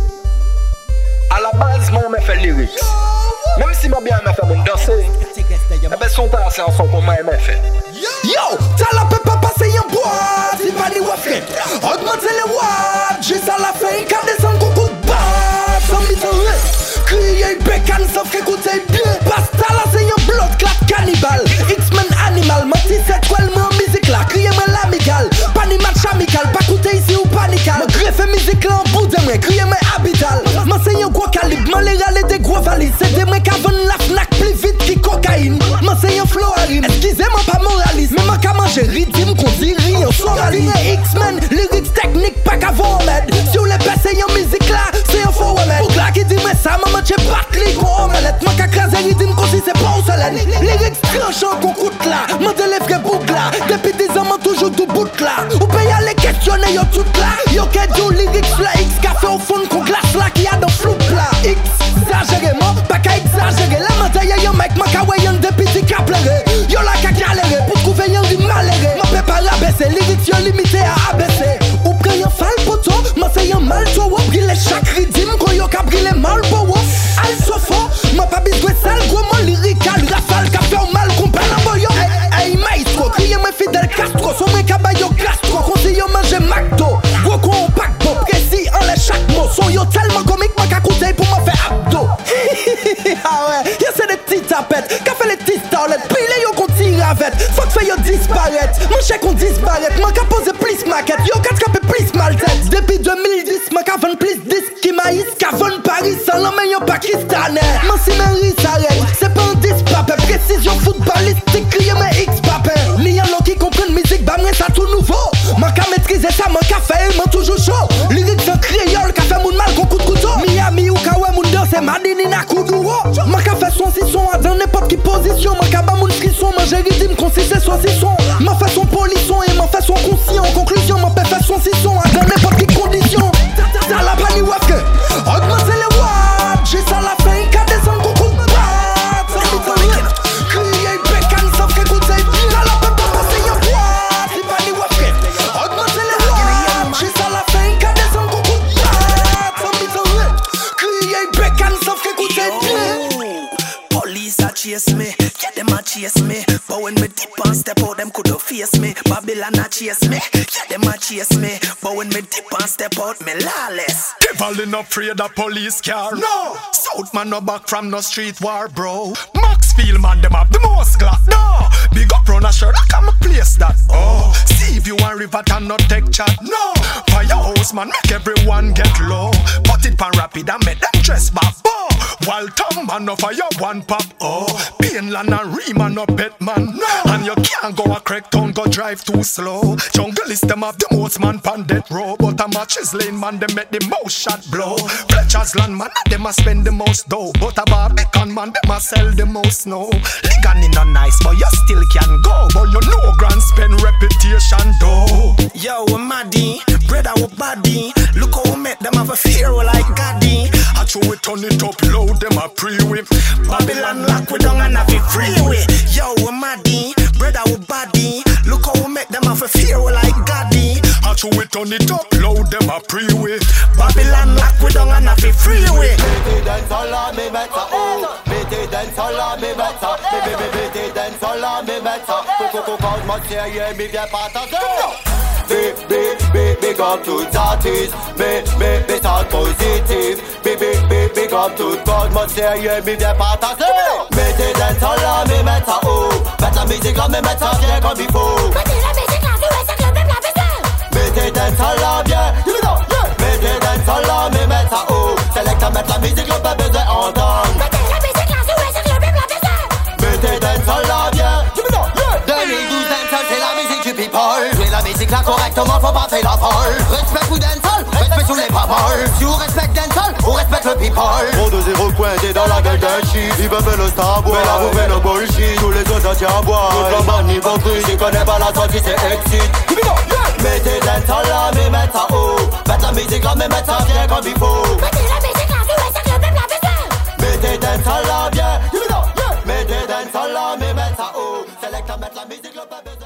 [SPEAKER 14] À la base, moi, on m'a fait lyrics. Même si moi bien m'a fait mon danser. Eh ben, son temps, c'est un son qu'on m'a fait.
[SPEAKER 22] Yo, t'as la peuple passer en boîte. Il va dire ouais, fait. Augmenter les watts. Juste à la fin, il can descendre coucou de basse. Sans mise en ré. Crier bécane, sauf qu'écouter bien. Pasta là, c'est un blood clot cannibal. X-Men animal. Menti, c'est quoi le mot musique là? Criez-moi l'amical. Pas ni match amical. Pas coûter ici ou panical. Me greffe musique là en bout de moi. Criez-moi habital. M'enseigne un gros calibre. M'en les râler des gros valises. C'est des mecs qui vendent la Fnac plus vite qui cocaïne. M'enseigne un flow à rime. Excusez-moi pas moraliste. Mais moi qu'à manger rythme qu'on dit rien. Soraline X-Men. Lyrics techniques pas qu'à vous remettre. Si vous les passez en musique là, c'est un faux remède. Pour là qui dit mais ça, maman j'ai pas clic en omelette. Moi qu'à craser rythme qu'on dit c'est pas au soleil. Lyrics tranchants qu'on coûte là. M'en les vrais boucles là. Depuis 10 ans, m'en toujours tout bout là. Ou paye à les questionner yo tout là. Yo qu'est du lyrics là. X café au fond qu'on glace là. Qui a dans flou là. X exagéré, moi pas qu'à exagérer. La montagne y'a un mec, moi qu'à voyer un depuis qu'à pleurer. Yo là qu'à galérer pour trouver un rime maléré. Moi peut pas rabaisser, lyrics yo limité à abaisser. Ou près un fall poto, moi c'est un mal to wop. Briller chaque rythme, qu'on yo qu'à briller mal pour wop. Al sofo, moi pas bisoué sale, gros mon lyrical. Rafale qu'a fait un mal qu'on parle en boyo. Hey maestro, criez moi fidèle Castro. Son mec à bayo gastro, conseille yo manger McDo. Gros con au paquebot, précis en les chaque mot. Son yo tellement comique, moi qu'à coûter pour me faire abdo. Ah ouais, y'a c'est des petites tapettes. Qu'a fait les petites starlettes, puis les yo qu'on tire avec. Faut que fait yo disparaître, mon chèque on disparaître. Moi qu'à poser plus maquette, yo qu'à scraper plus mal tête. Depuis 2010, moi qu'à vendre plus disques qui maïs. Qu'à vendre Paris sans l'emmène yo pakistanais. Moi si Mary s'arrête, c'est pas un dispapé. Précision footballistique, crier mes X-papé. Ni y'en a qui comprennent musique, bah moi ça tout nouveau. Moi qu'à maîtriser ça, fait, man toujours chaud. Lyrics en créole, qu'a fait moun mal qu'on coup de couteau. Miami ou Kawe moun danse, Madini na Kuduro. Man qu'a fait son sisson, dans n'importe qui position. Man qu'a ba moun frisson, man j'ai rythme consisté soit sisson. Man fait son polisson et man fait son conscient. En conclusion, man peut faire son sisson, dans n'importe qui condition. T'as la pani wafke, augmenter les watts. J'ai ça la fin, qu'a descendre coucou de batte. Ça me fait rien, crier bécan, ça fait écouter. T'as la peine de passer y'a quoi. C'est pani wafke, augmenter les watts. J'ai ça la fin, qu'a descendre coucou de batte. Ça me fait rien, crier bécan, ça fait écouter.
[SPEAKER 11] Police a chase me, yeah them a chase me. But when me dip and step out, them coulda face me. Babylon a chase me, yeah them a chase me. But when me dip and step out, me lawless.
[SPEAKER 18] Devil in afraid of police car. No, South man no back from no street war, bro. Maxfield man them have the most glass. No, big up run a shirt, I come a place that. Oh, see if you want river and not take chat. No, firehouse man make everyone get low. Put it pan rapid and make them dress back. Oh, while Tom man no fire one pop. Oh, Painland and Riemann no pet man. No, and you can't go a crack town, go drive too slow. Jungle is them have the most man pan death row. But a matches lane man them make the most shot blow. Fletcher's land man them a spend the most dough. But a Barbican man them a sell the most snow. Ligan in a nice but you still can go. But you know grand spend reputation though.
[SPEAKER 11] Yo, we're Maddy, brother, we're body. Look how we make them have a fear like Gaddy.
[SPEAKER 18] I show we turn it up low, them a pre-whip.
[SPEAKER 11] Babylon lock we down and have it freeway. Yo, we're Maddy, brother, we're body. Look how we make them have a fear like Gaddy.
[SPEAKER 18] I show we turn it up low, them a pre-whip.
[SPEAKER 11] Babylon lock we down and have it freeway.
[SPEAKER 9] Mettez dance all on me better, oh. Mettez dance all on me better. Mettez dance all on me better. Coco quand moi c'est hier, mais viens partager. Big up to artists, big talk positive. Big up to God, moi c'est hier, mais viens partager. Mettez dance all on me better, oh. Mettre la musique là, mais mettre ça bien comme il faut. Mettez la musique là, c'est ça que le peuple a besoin. Mettez dance all on bien, give it up, yeah. Mettez dance all on me better, oh. C'est là que mettre la musique là, pas besoin d'entendre. Mettez la musique là, c'est ça que le peuple a besoin. Mettez dance all on bien, give it up, yeah. 2012 dancehall, c'est la musique du people. Jouer la musique là correctement, faut pas faire la folle. Respect ou dancehall, respect sous les paroles. Si on respecte dancehall, on respecte le people. Trop de zéro pointé dans la gueule d'un shit. Ils veulent le star boy, mais là vous faites le bullshit. Tous les autres ça tient à boire. Toute la man hypocrite, ils connaissent pas la sortie, c'est excite. Mettez dancehall là, mais mettre ça haut. Mettre la musique là, mais mettre ça bien comme il faut. Mettez la musique là, c'est ça que le peuple a besoin. Mettez dancehall là bien, mettez dancehall là, mais mettre ça haut. C'est là que mettre la musique là, pas besoin.